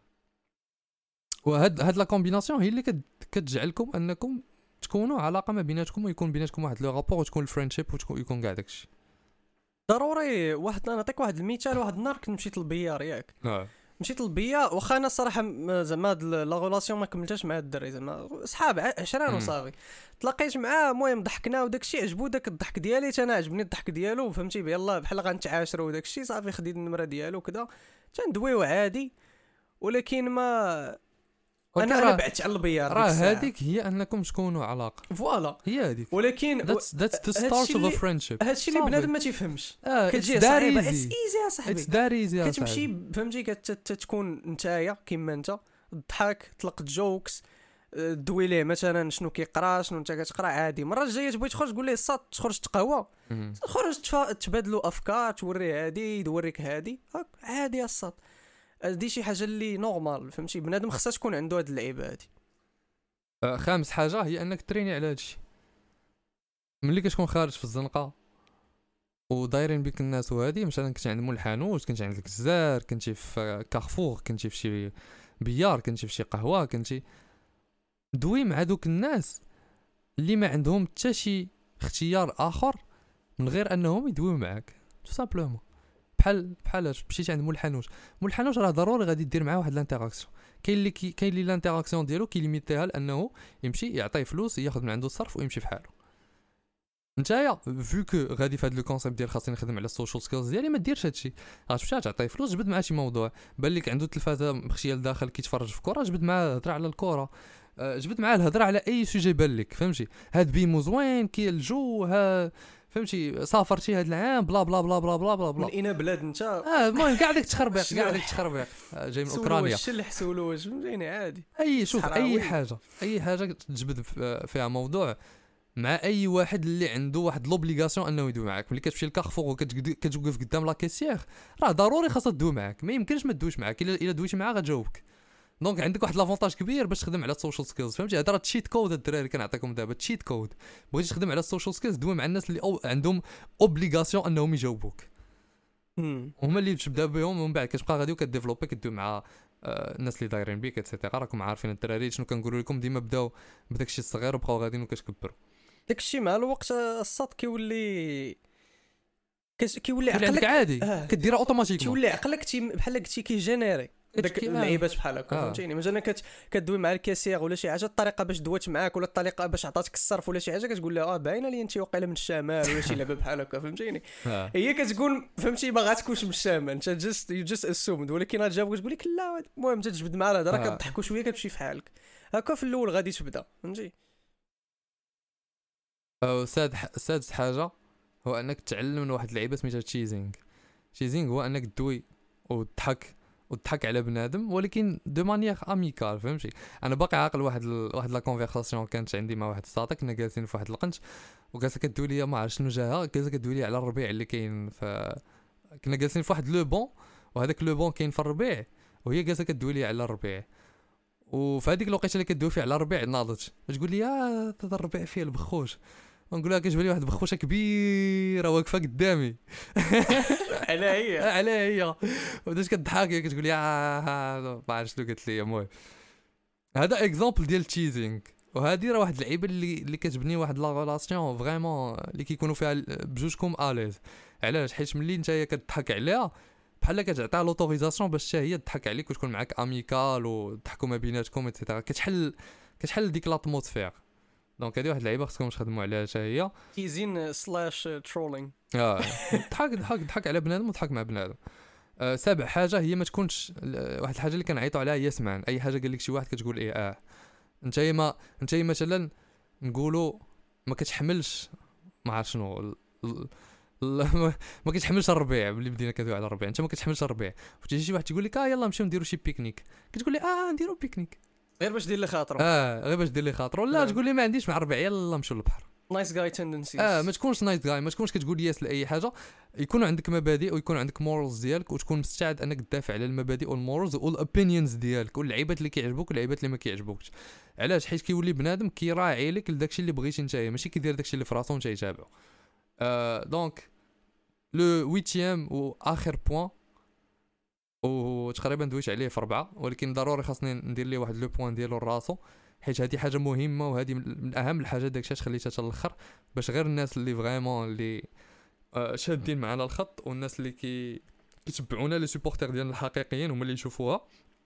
وهاد هاد لا كومبيناسيون هي اللي كتجعلكم انكم تكونوا علاقه ما بيناتكم ويكون بيناتكم واحد لو رابور وتكون الفريندشيب ويكون كاع داكشي ضروري. واحد نعطيك واحد المثال. واحد النهار كنت مشيت للبيار ياك اه مشيت للبيار واخا انا الصراحه زعما هاد لا ريلاسيون ما كملتش مع الدري زعما صحاب عشرين وصافي تلاقيت معاه. المهم ضحكنا وداكشي عجبو داك الضحك ديالي انا عجبني الضحك ديالو فهمتي يلاه بحال غنتعاشروا وداكشي صافي خديت النمره ديالو كذا تندويو عادي. ولكن ما انا انا بعدت على البيار راه هذيك هي انكم تكونوا علاقه فوالا هي هذيك. ولكن that's that's the start of a friendship. هادشي اللي بنادم ما تيفهمش آه كتجي صعيبه. اتس ايزي يا صاحبي اتس دار ايزي كتمشي فهمتي كتكون نتايا كيما انت الضحك تطلق جوكس دوي ليه مثلا شنو كيقرا شنو انت كتقرا عادي. المره الجايه تبغي تخرج تقول ليه الصاد تخرج تقهوى خرج تبادلوا افكار توريه هادي يوريك هادي عادي الصاد. هادي شي حاجه اللي نورمال فهمتي بنادم خصها تكون عنده هاد اللعيبه هادي. آه خامس حاجه هي انك تريني على هادشي ملي كتكون خارج في الزنقه ودايرين بك الناس. وهادي مثلا كنت عند مول الحانوت كنت عند الكزار كنتي في كارفور كنتي في شي بيار كنتي في شي قهوه كنتي دوي مع دوك الناس اللي ما عندهم حتى شي اختيار اخر من غير انهم يدويو معاك تو سامبلومون. بحال بحال مشيتي عند مول الحانوت مول الحانوت راه ضروري غادي دير معاه واحد الانتراكسيون. كاين اللي كي كاين اللي الانتراكسيون ديالو كيليميتيها لانه يمشي يعطيه فلوس ياخذ من عنده الصرف ويمشي في حاله. نتايا فيو كو غادي في هذا لو كونسيبت ديال خاصني نخدم على السوشيال سكيلز ديالي ما ديرش هادشي. غتمشي تعطيه فلوس جبد معاه شي موضوع بان لك عنده التلفازه مخشيه لداخل كيتفرج في كره جبد معاه هضره على الكره جبد معاه الهضره على اي سوجي بان لك فهمتي. هاد بيمو زوين كي الجو ها فهمتي سافرتي هاد العام بلا بلا بلا بلا بلا بلا, بلا. من اين بلاد انت اه المهم كاع داك التخربيق كاع داك التخربيق جاي من اوكرانيا الشلح سولو واش فهمتيني عادي. اي شوف اي حاجه اي حاجه تجبد فيها موضوع مع اي واحد اللي عنده واحد لوبليغاسيون انه يدوي معاك. ملي كتمشي للكارفور وكتوقف قدام لا كيسيير راه ضروري خاصها تدوي معاك ما يمكنش ما تدويش معاك. الا الا دويتي معاه غتجاوبك. دونك عندك واحد لافونتاج كبير باش تخدم على السوشيال سكيلز فهمتي. هذا راه تشيت كود الدراري كنعطيكم دابا تشيت كود. بغيتي تخدم على السوشيال سكيلز دوي مع الناس اللي أو عندهم اوبليغاسيون انهم يجاوبوك هما اللي تبدا بهم ومن بعد كتبقى غادي وكديفلوبي كدوي مع آه الناس اللي دايرين بيك اتسيتيرا. راكم عارفين الدراري شنو كنقولوا لكم ديما بداو بداك الشيء الصغير وبقاو غاديين وكتكبروا. داك الشيء مع الوقت الصاد كيولي كيولي عقلك عادي آه. كديرها اوتوماتيكمون كيولي عقلك بحال قلتي كيجينيري داك اللعيبات بحال هكا فهمتيني. مثلا كت كدوي مع الكاسير ولا شي حاجه الطريقه باش دوات معاك ولا الطريقه باش عطاتك الصرف ولا شي حاجه كتقول لها اه باينه لي انت واقيلا من الشمال ولا شي لعبه بحال هكا فهمتيني. هي كتقول فهمتي ما غاتكونش من الشمال انت جست يو جست اسومد ولكن غتجاوبك تقول لك لا. المهم تجبد مع الهضره كتضحكوا شويه كتمشي في حالك هكا في الاول غادي تبدا فهمتي. او ساد سادس حاجه هو انك تعلم من واحد اللعيبه سميتها تشيزينغ. تشيزينغ هو انك تدوي وتضحك وتضحك على بنادم ولكن دو مانيير اميكال فهمتي. انا باقي عاقل واحد ال... واحد لا كونفرساسيون كانت عندي مع واحد الصاطا كنا جالسين في واحد القنت وجالسه كدوي لي ما عرفت شنو جاها جالسه كدوي لي على الربيع اللي كاين ف كنا جالسين في واحد لو بون وهذاك لو بون كاين في الربيع وهي جالسه كدوي لي على الربيع. وفي هذيك الوقيته اللي كدوي فيه على الربيع ناضت تقول لي يا هذا الربيع فيه البخوش ونقول لها كتجبد لي واحد بخوشه كبيره واقفه قدامي على هي على هي وبدات كتضحك كتقول لي ما عرفتش شنو قالت لي. المهم هذا اكزامبل ديال التشيزينغ وهذه راه واحد اللعيبه اللي اللي كتبني واحد لا ريلاسيون فريمون اللي كيكونوا فيها بجوجكم اليز. علاش؟ حيت ملي نتايا كتضحك عليها بحال كتعطيها لوتوريزاسيون باش حتى هي تضحك عليك وتكون معاك اميكال وتضحكوا ما بيناتكم ايتترا. كتحل كتحل ديك لاتموسفير. دونك هذه واحد اللعيبه خصكم تخدموا عليها حتى هي تيزين سلاش ترولينغ. اه ضحك ضحك ضحك على بنادم وضحك مع بنادم. آه سابع حاجه هي ما تكونش واحد الحاجه اللي كنعيطوا عليها هي سمعان. اي حاجه قال لك شي واحد كتقول ايه اه انت ما انت مثلا نقولوا ما كتحملش ما عرف شنو ال... ال... ال... ما كتحملش الربيع اللي بدينا كدوي على الربيع، انت ما كتحملش الربيع، فتجي شي واحد تقول لك اه يلا نمشيو نديرو شي بيكنيك، كتقول لي اه نديرو بيكنيك غير باش دير لي خاطرو. اه غير باش دير لي خاطر، ولا لا. تقول لي ما عنديش مع الربيع يلا نمشيو للبحر. نايس جاي تندنسيز. اه ما تكونش نايت جاي، ما تكونش كتقول ياس لاي حاجه، يكون عندك مبادئ ويكون عندك مورالز ديالك، وتكون مستعد انك تدافع على المبادئ والمورالز والاوبينيونز ديالك واللعيبات اللي كيعجبوك واللعيبات اللي ما كيعجبوكش. علاش؟ حيت كيولي بنادم كيراعي لك لداكشي اللي بغيتي نتايا، ماشي كيدير داكشي اللي في راسو نتا يتابعو. آه دونك لو ويتيام واخر بوين وتقريبا دويت عليه في ربعه، ولكن ضروري خاصني ندير ليه واحد لو بوين ديالو لراسو، حيت هذه حاجه مهمه وهذه من اهم الحاجات داكشي علاش خليتها حتى الاخر، باش غير الناس اللي فريمون اللي آه شادين معنا الخط والناس اللي كي كيتبعونا لي سوبورتير ديالنا الحقيقيين هما اللي يشوفوها.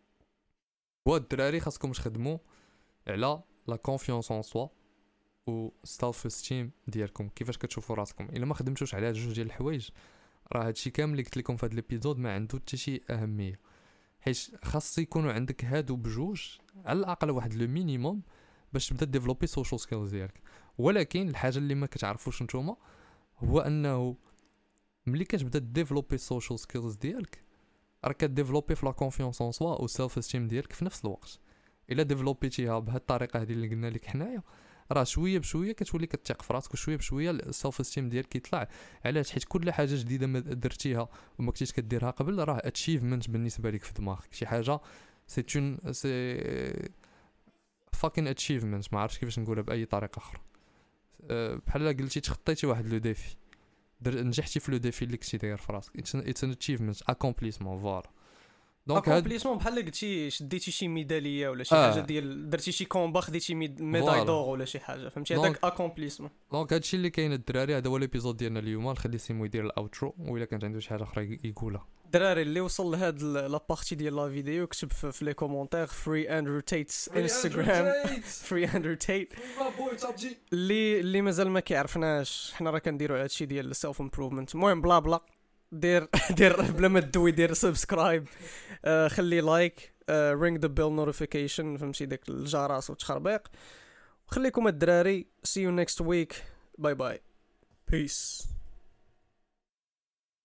هو الدراري خاصكم تخدموا على لا كونفيونس اون سوا و سيلف استيم ديالكم، كيفاش كتشوفوا راسكم. الا ما خدمتوش على هاد جوج ديال الحوايج راه هادشي كامل اللي قلت لكم في هاد الابيزود ما عنده حتى شي اهميه، حيت خاص يكونوا عندك هادو بجوج على الاقل واحد لو مينيموم باش تبدا ديفلوبي سوشيال سكيلز ديالك. ولكن الحاجه اللي ما كتعرفوش نتوما هو انه ملي كتبدا ديفلوبي سوشيال سكيلز ديالك راه كديفلوبي في لا كونفيونس اون سوا و سيلف استيم ديالك في نفس الوقت. الا ديفلوبيتيها بهاد الطريقه هذه اللي قلنا لك حنايا راه شويه بشويه كتولي كتثق في راسك، وشويه بشويه السيلف استيم ديالك كيطلع. علاش؟ حيت كل حاجه جديده ما درتيها وما كنتيش كديرها قبل راه اتشيفمنت بالنسبه لك في دماغك، شي حاجه سي اون سي فاكين اتشيفمنت، ما عرفتش كيفاش نقولها باي طريقه اخرى. أه بحال قلتي تخطيتي واحد لو ديفي، نجحتي في لو ديفي اللي كنتي داير في راسك، اتس ان اتشيفمنت اكومبليسمون فوالا. دونك اكومبليسمون بحال قلتي شديتي شي ميداليه ولا شي آه. حاجه ديال درتي شي كومبا خديتي ميداي دور ولا شي حاجه، فهمتي هذاك اكومبليسمون. دونك هادشي اللي كاين الدراري، هذا هو ليبيزود ديالنا اليوم. نخلي سيمو يدير الاوترو، وإلا كانت عنده شي حاجه اخرى يقولها. الدراري اللي وصل لهاد لا بارتي ديال لا فيديو كتب في لي كومونتير فري اندرو تايتس انستغرام فري اندرو تايت. اللي اللي مازال ما كيعرفناش حنا راه كنديروا هادشي ديال السيلف امبروفمنت. المهم بلا بلا دير دير بلا ما تدوي دير سبسكرايب، آه خلي لايك، آه رينج ذا بيل نوتيفيكيشن، فهمتي داك الجرس وتخربيق. خليكم الدراري، see you next week, bye bye, peace.